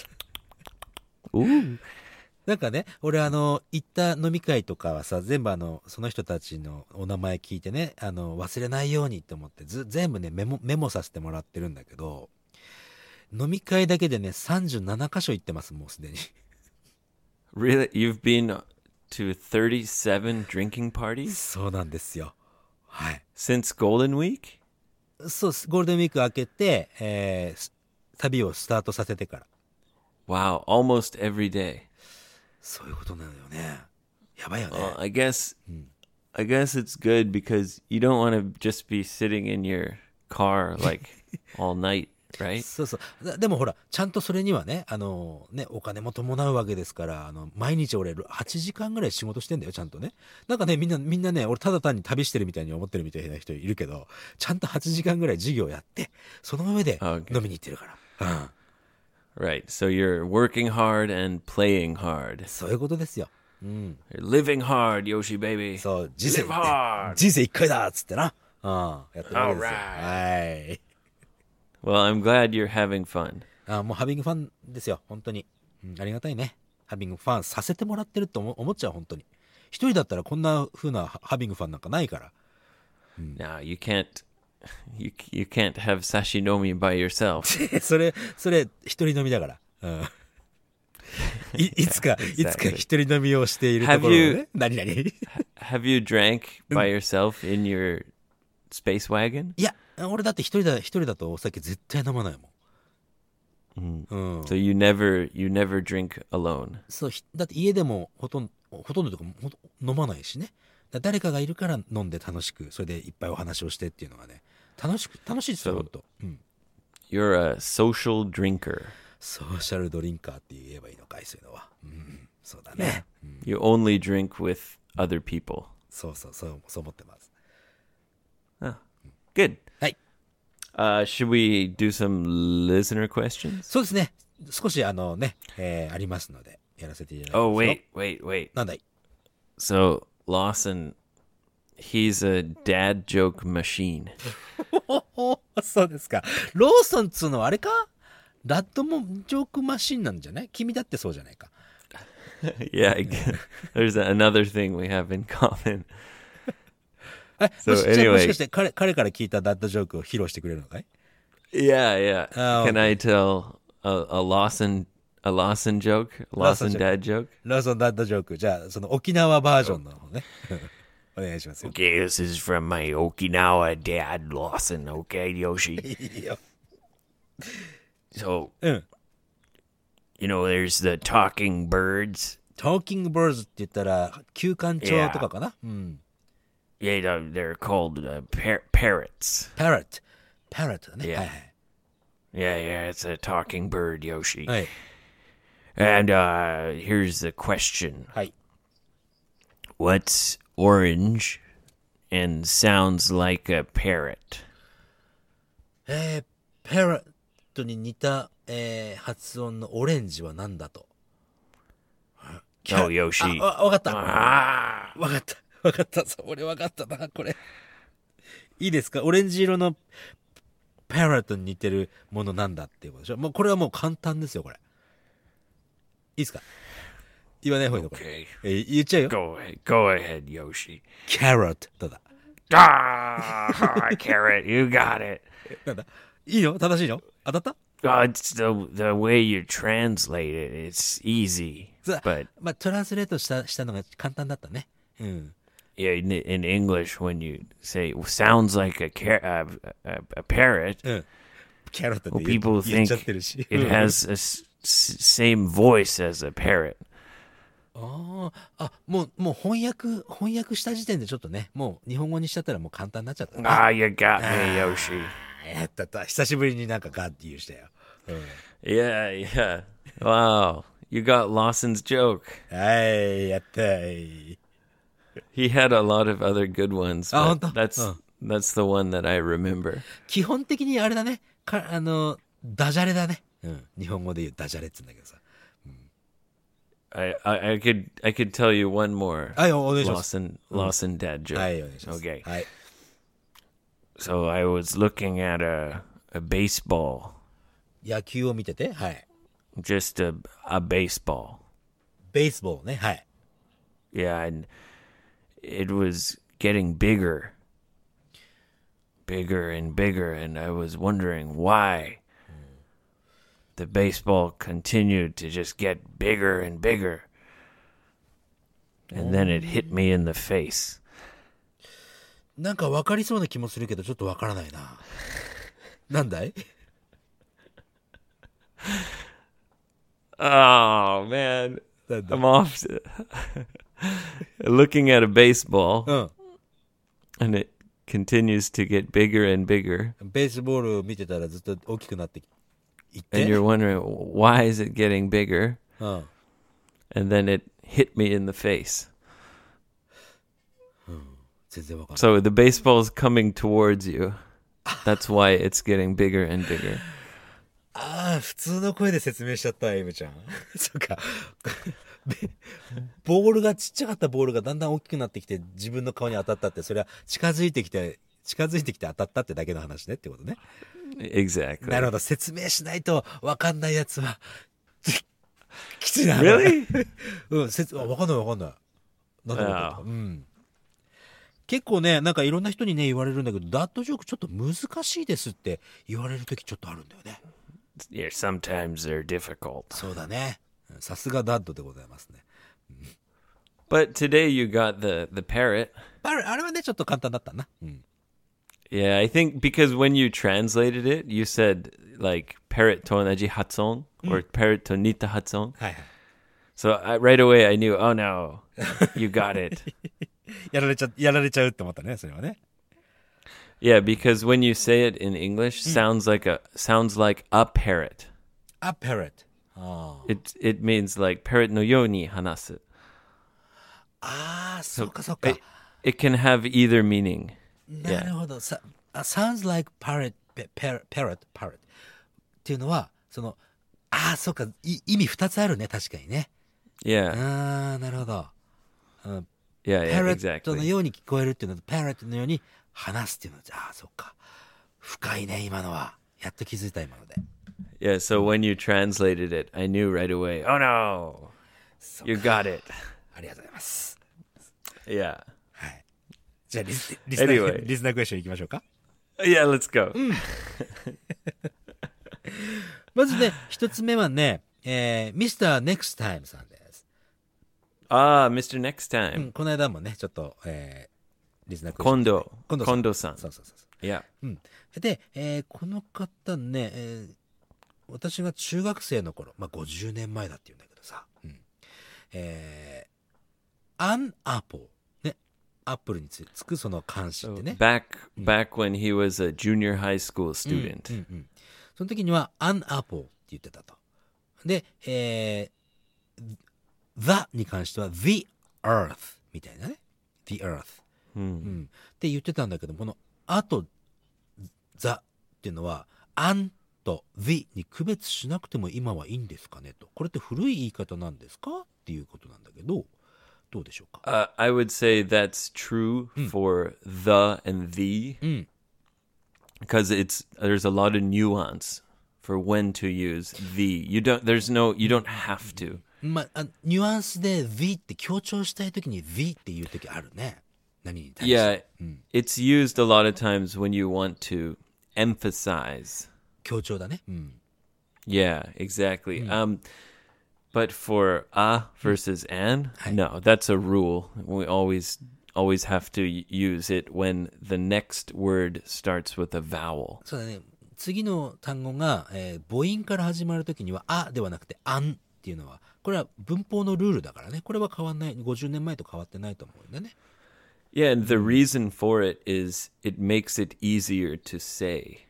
ooh. なんかね、俺あの行った飲み会とかはさ、全部あのその人たちのお名前聞いてね、あの忘れないようにって思ってず全部ねメモメモさせてもらってるんだけど、飲み会だけでねさんじゅうななかしょ行ってます、もうすでに。 Really, you've been to thirty-seven drinking parties そうなんですよ。はい。 since Golden Week? そうゴールデンウィーク明けて、えー旅をスタートさせてから。 Wow, almost every day. そういうことなのよね。やばいよね。 Well, I guess I guess it's good because you don't want to just be sitting in your car like all night. right? そうそう。だでもほら、ちゃんとそれにはね、あの、ね、お金も伴うわけですから、あの、毎日俺、はちじかんぐらい仕事してんだよ、ちゃんとね。なんかね、みんな、みんなね、俺ただ単に旅してるみたいに思ってるみたいな人いるけど、ちゃんとはちじかんぐらい授業やって、その上で Okay. 飲みに行ってるから。うん。 Right. So you're working hard and playing hard. そういうことですよ。うん。 You're living hard, Yoshi baby. そう、人生、 Live hard. 人生一回だっつってな。うん。やってるわけですよ。 Alright. はい。 Well, I'm glad you're having fun. あもうハビングファンですよ、本当に。うん、ありがたいね。ハビングファンさせてもらってると思思っちゃう、本当に。一人だったらこんな風なハビングファンなんかないから。 Now, you can't you you can't have sashinomi by yourself. それ、それ、一人飲みだから。うん。いいつか、 Yeah, いつか exactly. 一人飲みをしているところを Have you- ね。何々い Have you drank by yourself in your space wagon? や、俺だって一人だ、一人だとお酒絶対飲まないもん。うん。 So you never you never drink alone. そう、ひだって家でもほとんど、ほとんどというかほんと飲まないしね。だ誰かがいるから飲んで楽しく、それでいっぱいお話をしてっていうのがね、楽しく、楽しいですよ、 そうほんと。うん。 You're a social drinker. ソーシャルドリンカーって言えばいいのかい、そういうのは。うん、そうだね。 You only drink with other people. そうそう、そう、そう思ってます。 Oh, good. はい。 Uh, should we do some listener questions? そうですね。少しあのね、えー、ありますので、やらせていただきますよ。 Oh, wait, wait, wait. なんだい So, Lawson, he's a dad joke machine. そうですか。ローソンっつうのはあれかラッドもジョークマシンなんじゃない君だってそうじゃないか。 Yeah, I guess. There's another thing we have in common. え、 So もしじゃあもし anyway- かして彼彼から聞いたダッドジョークを披露してくれるのかい Yeah, yeah. Oh, Can I tell a, a Lawson a Lawson joke? Lawson Lawson joke. dad joke? ローソンダッドジョーク。じゃあ、その沖縄バージョンの方ね。お願いしますよ。 Okay, this is from my Okinawa dad, Lawson. Okay, Yoshi. いいよ。 So, うん。 you know, there's the talking birds. トーキングバーズって言ったら、休館長とかかな、うん。 Yeah, they're- they're called uh, par- parrots. パラット。パラットだね。 Yeah. はいはい。 Yeah, yeah, it's a talking bird, Yoshi. はい。 And uh, here's the question. はい。 What's orange and sounds like a parrot? えー、パラットに似た、えー、発音のオレンジは何だと Oh, Yoshi. あ、わわかった。 Ah. わかった。わかった。そう俺わかったな、これ。いいですかオレンジ色のパラットに似てるものなんだっていうことでしょもうこれはもう簡単ですよ、これ。いいですか言わない方がいいのこれ。 Okay. えー言っちゃうよ。 Go ahead. Go ahead, Yoshi. キャロット。どうだ Ah, carrot. You got it. なんだいいの正しいの当たった Oh, it's the the way you translate it. It's easy, そう but まあ、トランスレートしたしたのが簡単だったね。うん。 yeah, in, in English, when you say sounds like a car- uh, a, a parrot, うん。キャロットっ well, て言 people う言っ think ちゃってるし。 it has a s- s- same voice as a parrot. ああ、あ、もう、もう翻訳、翻訳した時点でちょっとね、もう日本語にしちゃったらもう簡単になっちゃったな。 Ah, you got me, Yoshi. やったった。久しぶりになんかガッて言うしたよ。うん。 Yeah, yeah. Wow, you got Lawson's joke. はい、やったい。 He had a lot of other good ones, Ah, but honto? that's Oh. that's the one that I remember. 基本的にあれだね。か、あの、ダジャレだね。うん。日本語で言うダジャレって言うんだけどさ。 I, I, I could I could tell you one more はい、お願いします。 Lawson Lawson dad joke. はい、お願いします。 Okay. はい。 So I was looking at a a baseball, 野球を見てて、はい。 just a a baseball. ベースボールね、はい。 Yeah, and it was getting bigger, bigger and bigger, and I was wondering why the baseball continued to just get bigger and bigger. And then it hit me in the face. なんか分かりそうな気もするけど、ちょっと分からないな。なんだい Oh man, なんだ I'm off to looking at a baseball, うん。 and it continues to get bigger and bigger. ベースボール見てたらずっと大きくなっていって。 And you're wondering, why is it getting bigger? うん。 And then it hit me in the face. 全然わかんない。 So the baseball's coming towards you. That's why it's getting bigger and bigger. ああ、普通の声で説明しちゃった、エムちゃん。そっか。ボールがちっちゃかったボールがだんだん大きくなってきて自分の顔に当たったって、それは近づいてきて近づいてきて当たったってだけの話ねってことね。 Exactly. なるほど。説明しないとわかんないやつはきついな。 Really? うん、説わかんないわかんない。なんだろうか。うん。結構ね、なんかいろんな人にね言われるんだけど、ダッドジョークちょっと難しいですって言われる時ちょっとあるんだよね。 Yeah, sometimes they're difficult. そうだね。さすがダッドでございますね。 But today you got the, the parrot. あれ、あれはね、ちょっと簡単だったな。うん。 Yeah, I think because when you translated it, you said like parrot to onaji hatson or parrot to nita hatson. はいはい。 So I, right away I knew, oh no, you got it. やられちゃ、やられちゃうって思ったね、それはね。 Yeah, because when you say it in English, sounds like a sounds like a parrot. A parrot. ああ。 It it means like parrot no yo ni hanasu. ああ、そうかそうか。 It, it can have either meaning. なるほど。さ、あ sounds like parrot, parrot, parrot, parrot っていうのは、その、ああ、そうか、い意味二つあるね、確かにね。 Yeah, ああ、なるほど。うん、 yeah, yeah, パレットの exactly. ように聞こえるっていうのと、パレットのように話すっていうのは、ああ、そっか。深いね、今のは。やっと気づいた、今ので。 Yeah, so when you translated it, I knew right away. Oh no, そう you か got it. ありがとうございます。 Yeah, はい。じゃあリス、リスナー、 Anyway. リスナークエスチョンいきましょうか。 yeah. Let's go. まずね、一つ目はね、えー、ミスター Next Time さんです。 Ah, Mister Next うん、 Time. この間もね、ちょっと、えー、リスナークエスチョン。 Kondo. 今度さん。 Kondo-san. そうそうそうそう。 Yeah. うん。で、えーこの方ね、えー私が中学生の頃、まあ、ごじゅうねんまえだって言うんだけどさ、うん、えー、アンアポー、ね、アップルにつつくその漢詞ってね。 Back back when he was a junior high school student. うんうん、その時にはアンアポーって言ってたと。で、えー、the に関しては the earth みたいなね。the earth、うん、って言ってたんだけど、このあと the っていうのはアンと the に区別しなくても今はいいんですかねと。これって古い言い方なんですかっていうことなんだけど、どうでしょうか。 Uh, I would say that's true for the and the, because it's there's a lot of nuance for when to use the. You don't. There's no. You don't have to. まあ、ニュアンスで the って強調したいときに the っていうときあるね。何に対して。 Yeah, it's used a lot of times when you want to emphasize. 強調だね。うん。 Yeah, exactly. Um, but for a versus an, no, that's a rule. We always always have to y- use it when the next word starts with a vowel. そうだね。次の単語が、えー母音から始まるときにはあではなくてあんっていうのは、これは文法のルールだからね。これは変わんない。ごじゅうねんまえと変わってないと思うんだね。 Yeah, and the reason for it is it makes it easier to say.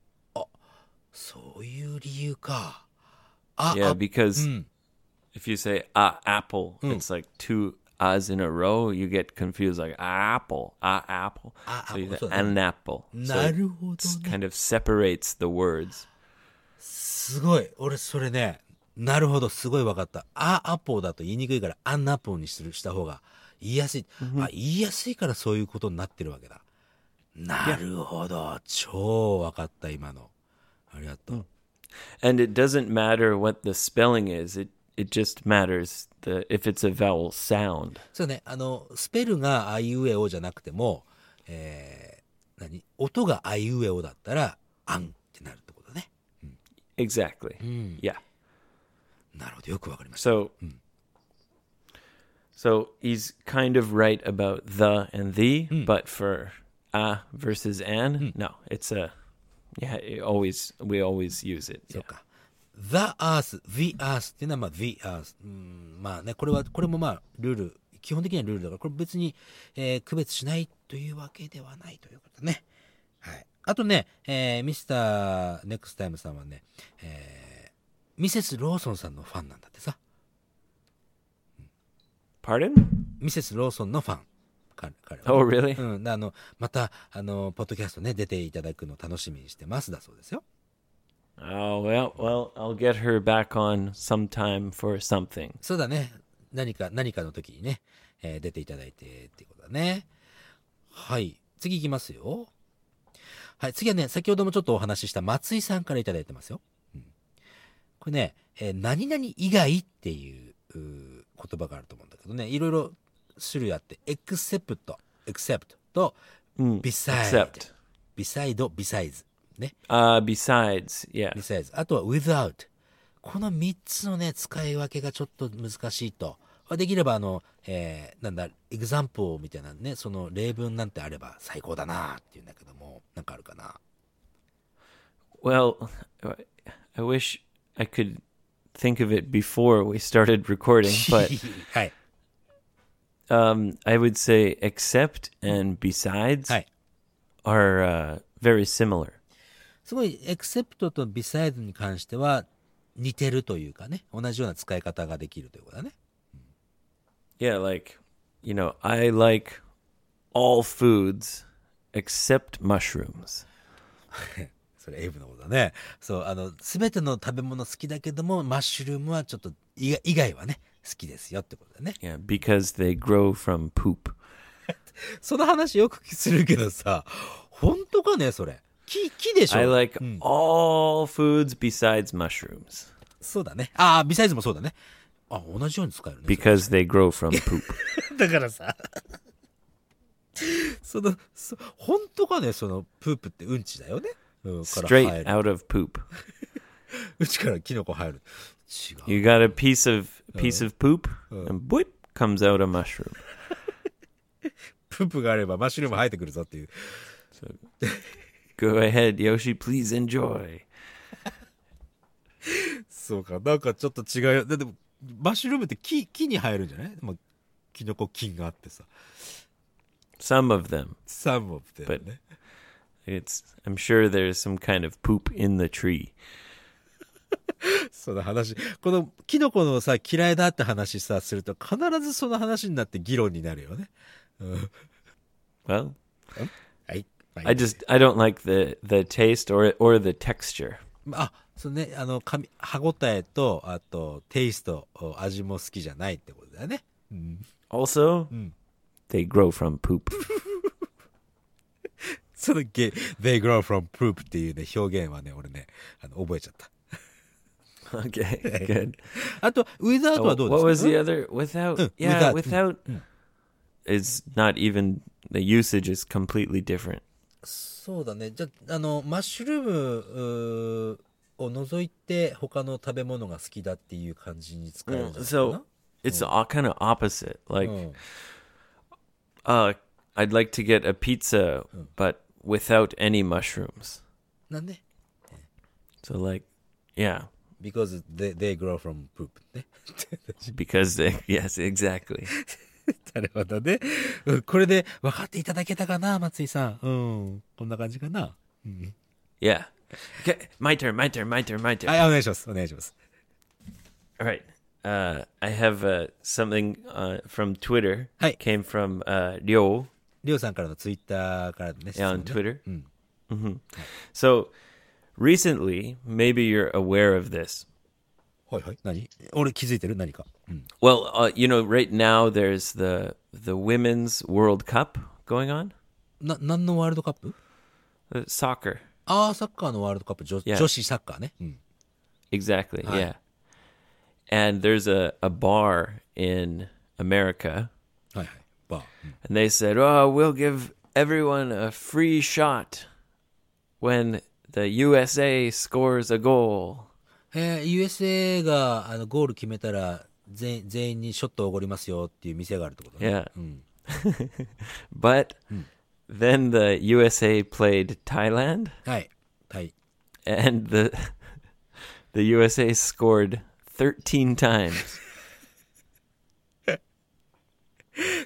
そういう理由か。あ、 Yeah, あ、 because うん。 if you say a apple, it's like two a's in a row. You get confused, like a apple, a apple. A So you apple, say so- an apple. So なるほど it ね。 kind of separates the words. すごい。俺それね、なるほど、すごい分かった。あ、アポーだと言いにくいから、アンアポーにするした方が言いやすい。あ、言いやすいからそういうことになってるわけだ。なるほど。超分かった、今の。ありがとう。 And it doesn't matter what the spelling is. It it just matters the if it's a vowel sound. そうね、あの、スペルがあいうえおじゃなくても、えー、何音があいうえおだったら、あんってなるってことね。 Exactly. Yeah. なるほど、よくわかりました。 So so he's kind of right about the and the, but for a versus an, no, it's a yeah, it always we always use it. そう Yeah. か。The Earth, The Earth っていうのは、まあ、The Earth。うん、まあね、これは、これもまあ、ルール基本的にはルールだから、これ別に、えー区別しないというわけではないということね。はい。あとね、えーミスターネクスタイムさんはね、えーミセスローソンさんのファンなんだってさ。 Pardon? ミセスローソンのファン。彼彼はね Oh, really? うん。であの、また、あの、ポッドキャストね、出ていただくの楽しみにしてますだそうですよ。 Oh, well, well, I'll get her back on sometime for something. そうだね。何か、何かの時にね、えー出ていただいてっていうことだね。はい。次行きますよ。はい。次はね、先ほどもちょっとお話しした松井さんからいただいてますよ。うん、これね、えー何々以外っていううー言葉があると思うんだけどね、いろいろ種類あって、except、except と Mm, beside、 except. beside、besides ね。 Uh, besides, yeah. besides。あとは without。このみっつのね、使い分けがちょっと難しいと。できればあの、えーなんだ、example みたいなね、その例文なんてあれば最高だなっていうんだけども、なんかあるかな。 Well, I wish I could think of it before we started recording, but はい。 um, I would say except and besides はい。 are uh, very similar. すごい、except と besides に関しては似てるというかね、同じような使い方ができるということだね。 Yeah, like, you know, I like all foods except mushrooms. それエイブのことだね。そう、あの、すべての食べ物好きだけども、マッシュルームはちょっと以外以外はね、好きですよってことだね。 Yeah, because they grow from poop. その話よくするけどさ、本当かね、それ。木、木でしょ。 I like うん、 all foods besides mushrooms そうだね。ああ、ビサイズもそうだね。あ、同じように使えるね。 because they grow from poop. だからさ、その、そ本当かね、その、プープってうんちだよね。うん、から生 Straight える。 out of poop. うちからキノコ生える。違う。 You got a piece of piece of poop, and boop comes out a mushroom. プープがあればマッシュルーム生えてくるぞっていう。 Go ahead, Yoshi. Please enjoy. そうか、なんかちょっと違うよ。だって、マッシュルームって木、木に生えるんじゃない？まあ、キノコ菌があってさ。 Some of them, some of them ね。 it's. I'm sure there's some kind of poop in the tree. その話、このキノコのさ、嫌いだって話さ、すると必ずその話になって議論になるよね。うん、 Well, はい。まあ I just I don't like the the taste or or the texture. あ、そうね、あの、噛み、歯ごたえと、あと、テイスト、味も好きじゃないってことだよね。うん、 Also, they grow from poop. そのゲ、they grow from poop っていうね、表現はね、俺ね、あの、覚えちゃった。 Okay, good. あと、without はどうです What か？ was the other? Without? Mm, Yeah, without. without is not even the usage is completely different. そうだね。じゃあ、あの、マッシュルームうーを除いて他の食べ物が好きだっていう感じに使えるんじゃないかな。 So it's all kind of opposite. Like, うん、 uh, I'd like to get a pizza, but without any mushrooms. なんで So like, yeah, because they, they grow from poop ね。 because they, yes, exactly. なるほどね。うん、これで分かっていただけたかな、松井さん。うん。こんな感じかな。うん、 Yeah. Okay, my turn, my turn, my turn, my turn. はい、お願いします。お願いします。 All right. Uh, I have uh, something uh, from Twitter. Hi. Came from uh, Ryo. りょうさんからのツイッターからのね、質 Yeah, 問 on ね Twitter. うん。 hmm So recently, maybe you're aware of this. はいはい。何？俺気づいてる？何か。うん。 Well, uh, you know, right now there's the the Women's World Cup going on. な、何のワールドカップ？ Uh, soccer. ああ、サッカーのワールドカップ、女, Yeah. 女子サッカーね。うん。 Exactly. Hi. Yeah. And there's a, a bar in America, はいはい。バー。うん、 and they said, "Oh, we'll give everyone a free shot when the U S A scores a goal." えー、ユーエスエー があのゴール決めたら全全員にショットをおごりますよっていう店があるってことね。 Yeah. うん。 But then the U S A played Thailand, はい。タイ。 and the the U S A scored thirteen times.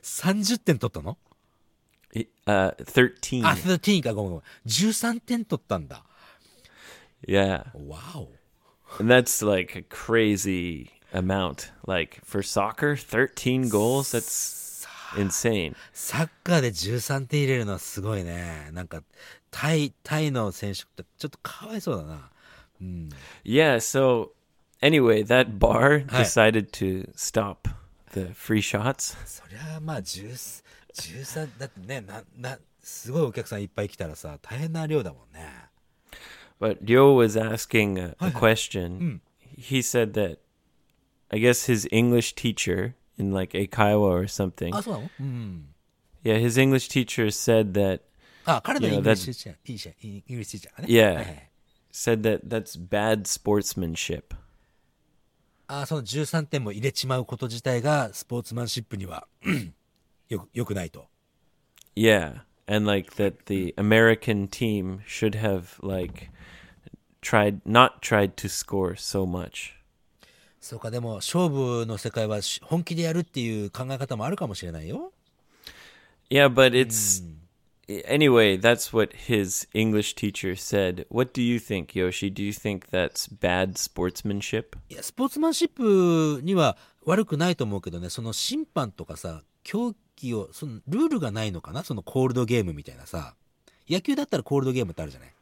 さんじゅってん取ったの？ Uh, thirteen. あ、じゅうさんか、ごめんごめん。じゅうさんてん取ったんだ。 Yeah. わお。 And that's like a crazy amount. Like for soccer, thirteen goals, that's insane. サッカーでじゅうさんてん入れるのはすごいね。なんか、タイ、タイの選手ってちょっとかわいそうだな。うん。 Yeah, so anyway, that bar はい。 decided to stop the free shots. そりゃあまあじゅう、じゅうさん、だってね、な、な、すごいお客さんいっぱい来たらさ、大変な量だもんね。 But Ryo was asking a, a Hi, hi. question. He said that I guess his English teacher in like Eikaiwa or something. あ、そうなの？うん。 Yeah, his English teacher said that あ、彼の You know, イングリッシュティーチャー、いいじゃん、イングリッシュティーチャーがね。 Yeah. はいはい。 said that that's bad sportsmanship. あ、そのじゅうさんてんも入れちまうこと自体がスポーツマンシップにはよく、よくないと。 Yeah, and like that the American team should have like tried not tried to score so much. そうか、でも勝負の世界はし本気でやるっていう考え方もあるかもしれないよ。 Yeah, but it's anyway, that's what his English teacher said. What do you think, Yoshi? Do you think that's bad sportsmanship? いや、スポーツマンシップには悪くないと思うけどね、その審判とかさ、競技を、そのルールがないのかな、そのコールドゲームみたいなさ。野球だったらコールドゲームってあるじゃない。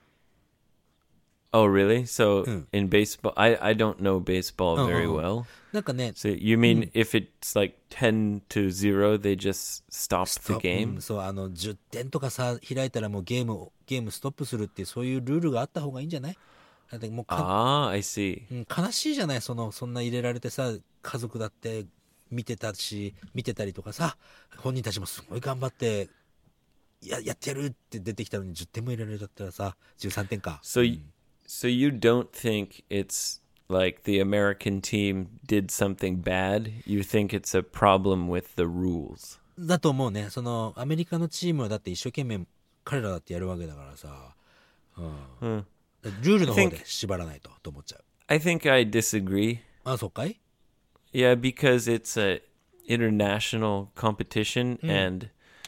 Oh, really? So Mm. in baseball, I I don't know baseball Oh, very oh, oh. well. なんかね、 So you mean if it's like ten to zero, they just stop ス the トップ、う game? ん、そう、あのじゅってんとかさ開いたらもうゲームゲームストップするっていうそういうルールがあった方がいいんじゃない？だってもうか、 Ah, I see. うん、悲しいじゃない、そのそんな入れられてさ、家族だって見てたし見てたりとかさ、本人たちもすごい頑張ってややってやるって出てきたのにじゅってんも入れられちゃったらさ、じゅうさんてんか。 So y- so you don't think it's like the American team did something bad? You think it's a problem with the rules? だと思うね。そのアメリカのチームはだって一生懸命彼らだってやるわけだからさ、うん、 Hmm. ルールの方 I で think- 縛らないとと思っちゃう。 I think I disagree. あ、そうかい？ Yeah, because it's a international competition and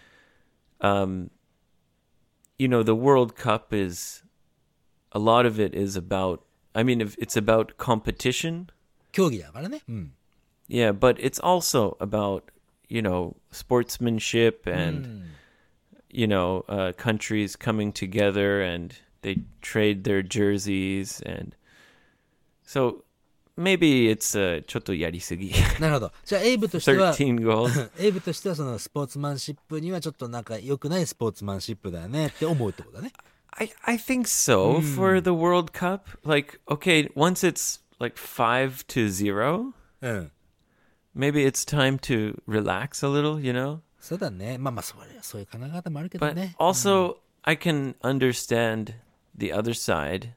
um you know, the World Cup is a lot of it is about I mean if it's about competition. 競技だからね。うん。 Yeah, but it's also about, you know, sportsmanship and you know, uh, countries coming together and they trade their jerseys and so maybe it's uh, ちょっとやりすぎ. なるほど。じゃあエイブとしては thirteen goals. エイブとしてはそのスポーツマンシップにはちょっとなんか良くないスポーツマンシップだよねって思うってことだね。 I I think so for the World Cup. Like, okay, once it's like five to zero, うん。 maybe it's time to relax a little, you know? そうだね。まあまあそれそういう考え方もあるけど But ね。 also, I can understand the other side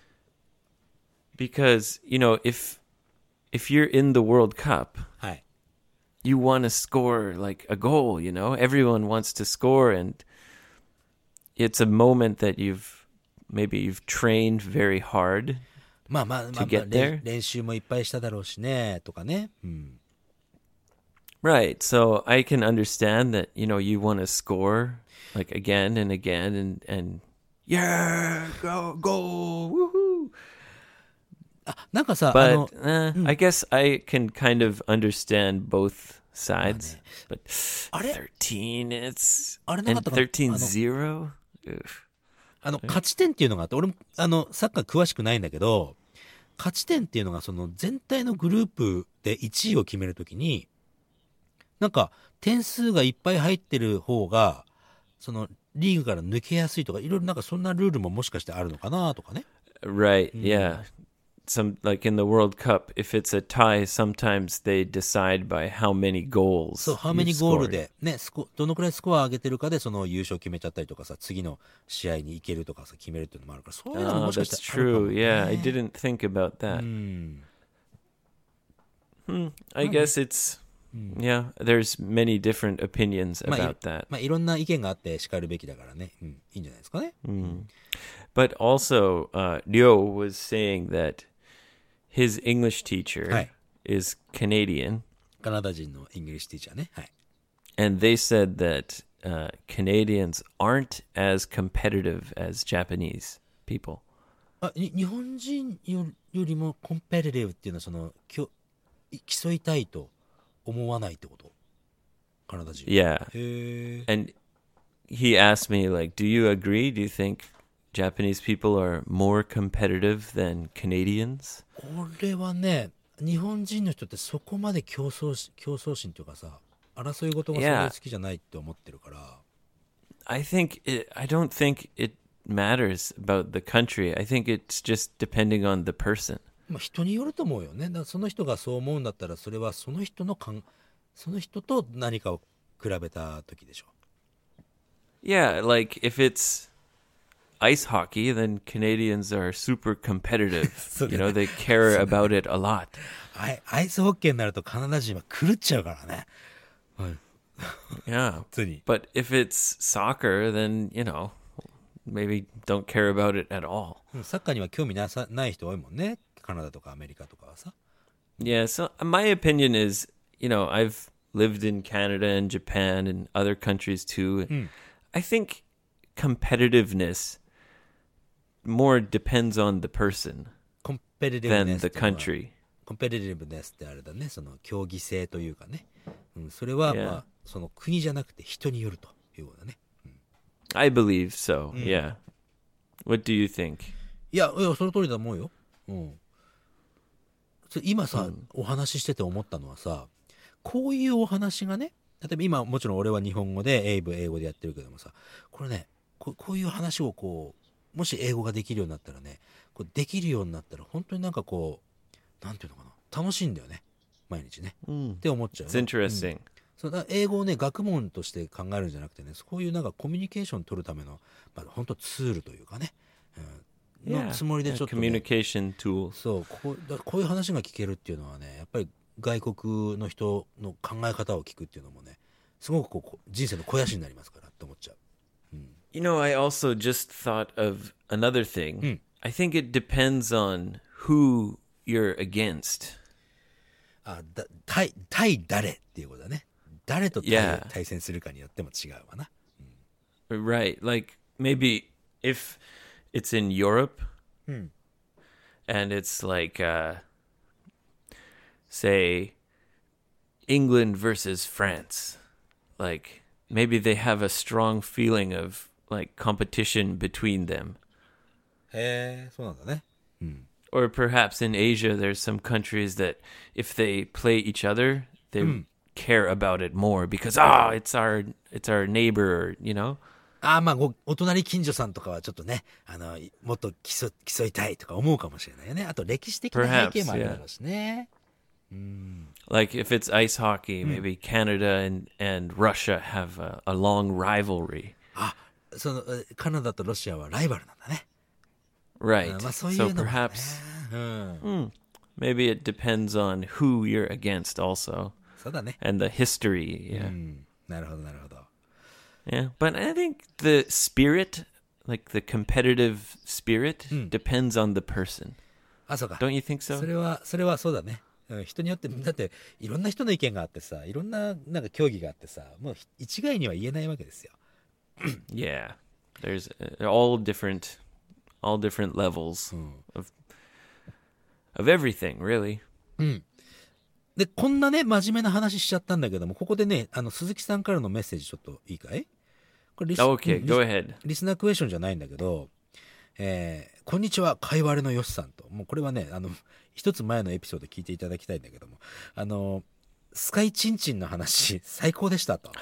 because, you know, if if you're in the World Cup, はい。 you want to score like a goal, you know? Everyone wants to score and it's a moment that you've maybe you've trained very hard. まあまあまあ、まあ get 練 there? 練習もいっぱいしただろうしねとかね。うん。 Right. So I can understand that, you know, you want to score like again and again and and yeah, go go woohoo. あ、なんかさ、あの But uh, I guess I can kind of understand both sides. But あれ？ thirteen it's あれなか and ったかな？ thirteen あの zero. Oof. あの勝ち点っていうのがあって、俺もあのサッカー詳しくないんだけど、勝ち点っていうのがその全体のグループでいちいを決めるときに、なんか点数がいっぱい入ってる方がそのリーグから抜けやすいとか、いろいろなんかそんなルールももしかしてあるのかなとかね。 Right. Yeah. Some like in the World Cup, if it's a tie, sometimes they decide by how many goals. そう、ハー you've メニゴール scored. でね、スコどのくらいスコア上げてるかでその優勝決めちゃったりとかさ、次の試合に行けるとかさ決めるっていうのもあるから、そういうのも Oh, もしかして that's あるかも true. ね。 Yeah, I didn't think about う that. ん。 Hmm. I guess it's yeah. There's many different opinions まあ、い about that. まあいろんな意見があって叱るべきだからね。うん、いいんじゃないですかね。 But also, uh, Ryo was saying that his English teacher Hi. is Canadian, カナダ人のイングリッシュティーチャーね。はい。 and they said that uh, Canadians aren't as competitive as Japanese people. あ、に日本人よよりもコンペティティブっていうのはそのきょ競いたいと思わないってこと？カナダ人。 Yeah. へえ。 And he asked me, like, do you agree? Do you think Japanese people are more competitive than Canadians? 俺はね、日本人の人ってそこまで競争し競争心というかさ、争い事がそれ Yeah. 好きじゃないって思ってるから。 I think it, I don't think it matters about the country. I think it's just depending on the person. まあ人によると思うよね。だからその人がそう思うんだったら、それはその人のかんその人と何かを比べた時でしょ。 Yeah, like if it's ice hockey, then Canadians are super competitive. You know, they care about it a lot. アイアイスホッケーになるとカナダ人は狂っちゃうからね。はい。 Yeah. 普通に。 But if it's soccer, then, you know, maybe don't care about it at all. うんサッカーには興味なさない人多いもんね。カナダとかアメリカとかはさ。 Yeah, so my opinion is, you know, I've lived in Canada and Japan and other countries too. I think competitiveness more depends on the person コンペティティブ than ネス the っていうのは country. コンペティティブネスってあれだね。その競技性というかね。うん、それは、 Yeah. まあ、その国じゃなくて人によるということだね。 I believe so, yeah. What do you think? いや、いや、その通りだと思うよ。うん。それ今さ、お話ししてて思ったのはさ、こういうお話がね、例えば今もちろん俺は日本語でエイブ英語でやってるけどもさ、これね、こう、こういう話をこう、もし英語ができるようになったらね、こうできるようになったら本当になんかこう、なんていうのかな、楽しいんだよね。毎日ね。って思っちゃう It's よ。 interesting. そうだ英語をね学問として考えるんじゃなくてね、こういうなんかコミュニケーション取るための、まあ、本当ツールというかね、うん、 Yeah, のつもりで yeah, ちょっと、ね、 communication tool. そうこうだこういう話が聞けるっていうのはね、やっぱり外国の人の考え方を聞くっていうのもね、すごくこう人生の肥やしになりますからって思っちゃう。 You know, I also just thought of another thing. I think it depends on who you're against. あだ対対誰っていうことだね。誰と対, Yeah. 対戦するかによっても違うわな。 Right. Like maybe if it's in Europe and it's like, uh, say, England versus France. Like maybe they have a strong feeling of like competition between them. へえ、そうなんだね。 Or perhaps in Asia, there's some countries that if they play each other, they care about it more because, ah, it's our, it's our neighbor, you know? ああ、まあごお隣近所さんとかはちょっとね、あのもっと競競いたいとか思うかもしれないよね。あと歴史的な背景もあるだろうしね。 Like if it's ice hockey, maybe Canada and, and Russia have a, a long rivalry. あ、そのえカナダとロシアはライバルなんだね。 Right. まあそうい So うのもね。 perhaps うん、 maybe it depends on who you're against also そうだね。 and the history. う Yeah. ん、なるほどなるほど。 Yeah. But I think the spirit, like the competitive spirit, depends on the person. あ、そうか。 Don't you think そ so? れはそれはそうだね。うん、人によってだっていろんな人の意見があってさ、いろんななんか競技があってさ、もう一概には言えないわけですよ。 Yeah. There's uh, all different, all different levels of, of everything, really. でこんなね真面目な話しちゃったんだけども、ここでねあの鈴木さんからのメッセージちょっといいかい？これリス Okay, うん go リス ahead. リスナークエスチョンじゃないんだけど、えーこんにちは、かいわれのよしさんと。もうこれはね、あの、一つ前のエピソード聞いていただきたいんだけども、あの、スカイチンチンの話、最高でしたと。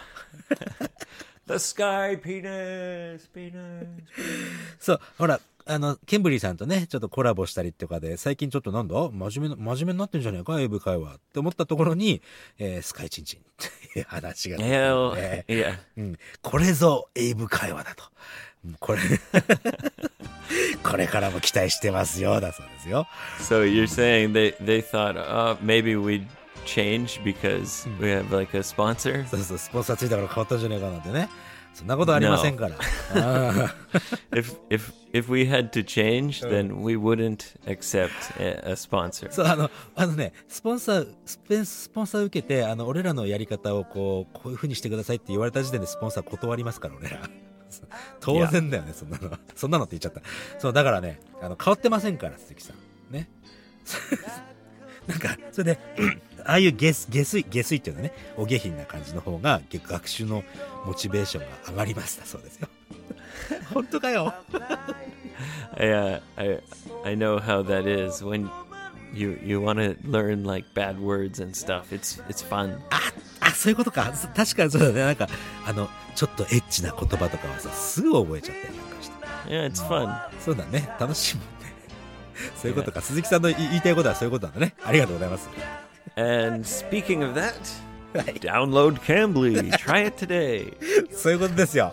The sky penis, penis. そう、ほら、あの、ケンブリーさんとね、ちょっとコラボしたりとかで、最近ちょっとなんだ真面目な、真面目になってんじゃねえか、英語会話って思ったところに、えースカイチンチンっていう話が出て Hell, ね yeah. うん、これぞ英語会話だと。これ、これからも期待してますよ、だそうですよ。 So you're saying they, they thought, uh, maybe we'd change because we have like a sponsor? そうそう、スポンサーついたから変わったんじゃねえかなんてね。 そんなことありませんから。あ If if if we had to change, then we wouldn't accept a, a sponsor. そう、あの、あのね、スポンサー、スペンスポンサー受けて、あの、俺らのやり方をこう、こういう風にしてくださいって言われた時点でスポンサー断りますから、俺ら。当然だよね、そんなの。そんなのって言っちゃった。そう、だからね、あの、変わってませんから、鈴木さん。ね。なんか、それで、ああいう下水、下水、下水っていうのはね、お下品な感じの方が、学習のモチベーションが上がりましたそうですよ。本当かよ。 I, uh, I I know how that is when you you want to learn like bad words and stuff. It's it's fun. あ、あ、そういうことか。確かにそうだね。なんか、あの、ちょっとエッチな言葉とかはさ、すぐ覚えちゃったりなんかして。 Yeah, it's fun. そうだね。楽しいもんね。そういうことか。鈴木さんの言いたいことはそういうことなんだね。ありがとうございます。 And speaking of that, download Cambly. Try it today. そういうことですよ。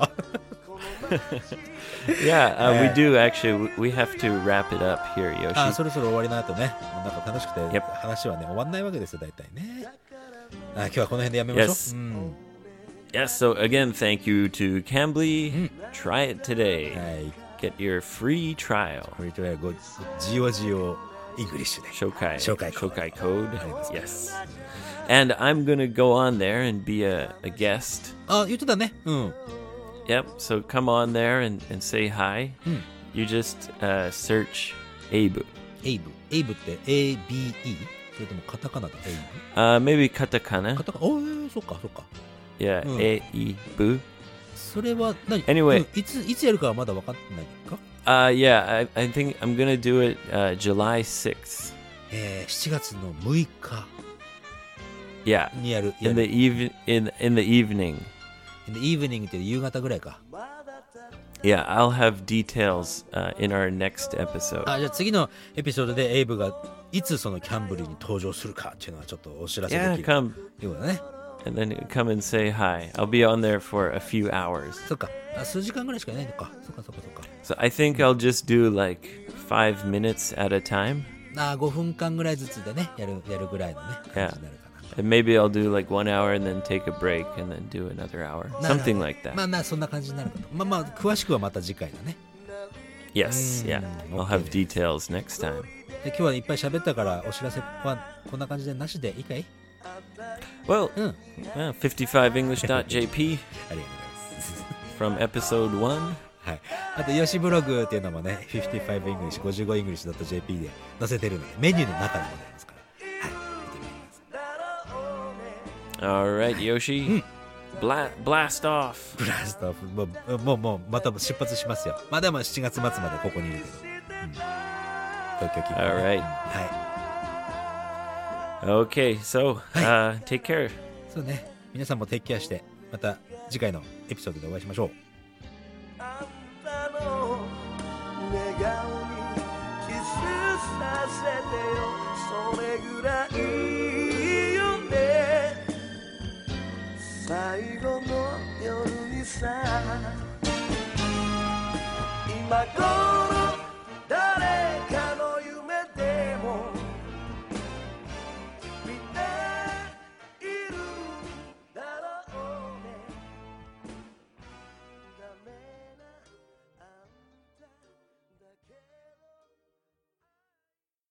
Yeah, uh, we do actually. We have to wrap it up here, あ、 Yoshi. そろそろ終わりの後ね。なんか楽しくて、 Yep. 話はね、終わんないわけですよ、大体ね。あ、今日はこの辺でやめましょう。 Yes. うん。 Yes. So again, thank you to Cambly. Try it today. はい。 Get your free trial. これとはご、ジオジオイングリッシュで。 Shokai. Shokai code. Shokai code. Yes. Yes. And I'm gonna go on there and be a, a guest. あ、言ってたね。うん。 Yep. So come on there and, and say hi. You just uh, search Abe. エイブ。エイブって エービーイー？ それともカタカナでエイ Uh, maybe ブ？ katakana. カタカナ。おー、そっかそっか。 Yeah. Mm. Abe. それは何？ Anyway. うんいつ、いつやるかはまだ分かってないか？ Uh, yeah. I, I think I'm gonna do it uh, July sixth. えー、しちがつのむいか Yeah. にやる。や In る the even in in the evening. In the evening って夕方ぐらいか。 Yeah, I'll have details uh, in our next episode. あ、じゃあ次のエピソードでエイブがいつそのキャンブリーに登場するかっていうのはちょっとお知らせで Yeah, きる。 come いうことだね。 and then come and say hi. I'll be on there for a few hours. そっか。あ、数時間ぐらいしかいないのか。そっかそっかそっか。 So I think I'll just do like five minutes at a time. あ、ごふんかんぐらいずつでね、やる、やるぐらいのね、感じになるかな。 And maybe I'll do like one hour and then take a break and then do another hour. なるほど Something like that. まあな、そんな感じになるかと。まあまあ、詳しくはまた次回だね。 Yes, yeah. Mm, I'll okay. have details next time. で今日はいっぱい喋ったからお知らせはこんな感じでなしでいいかい？ Well, うん。 uh, fifty-five english dot j p ありがとうございます。 from episode one. はい。あと、ヨシブログっていうのもね、フィフティファイブ English、ごじゅうご English ドット ジェーピー で載せてるので、メニューの中にも出ますから。はい。見てみてください。 All right, Yoshi. Bla- blast off. ブラストオフ、もう、もう、もう、また出発しますよ。まあでもしちがつ末までここにいるけど。うん。東京近辺ね Alright. は Okay, so uh, take care. い。そうね。皆さんもテイクケアして、また次回のエピソードでお会いしましょう。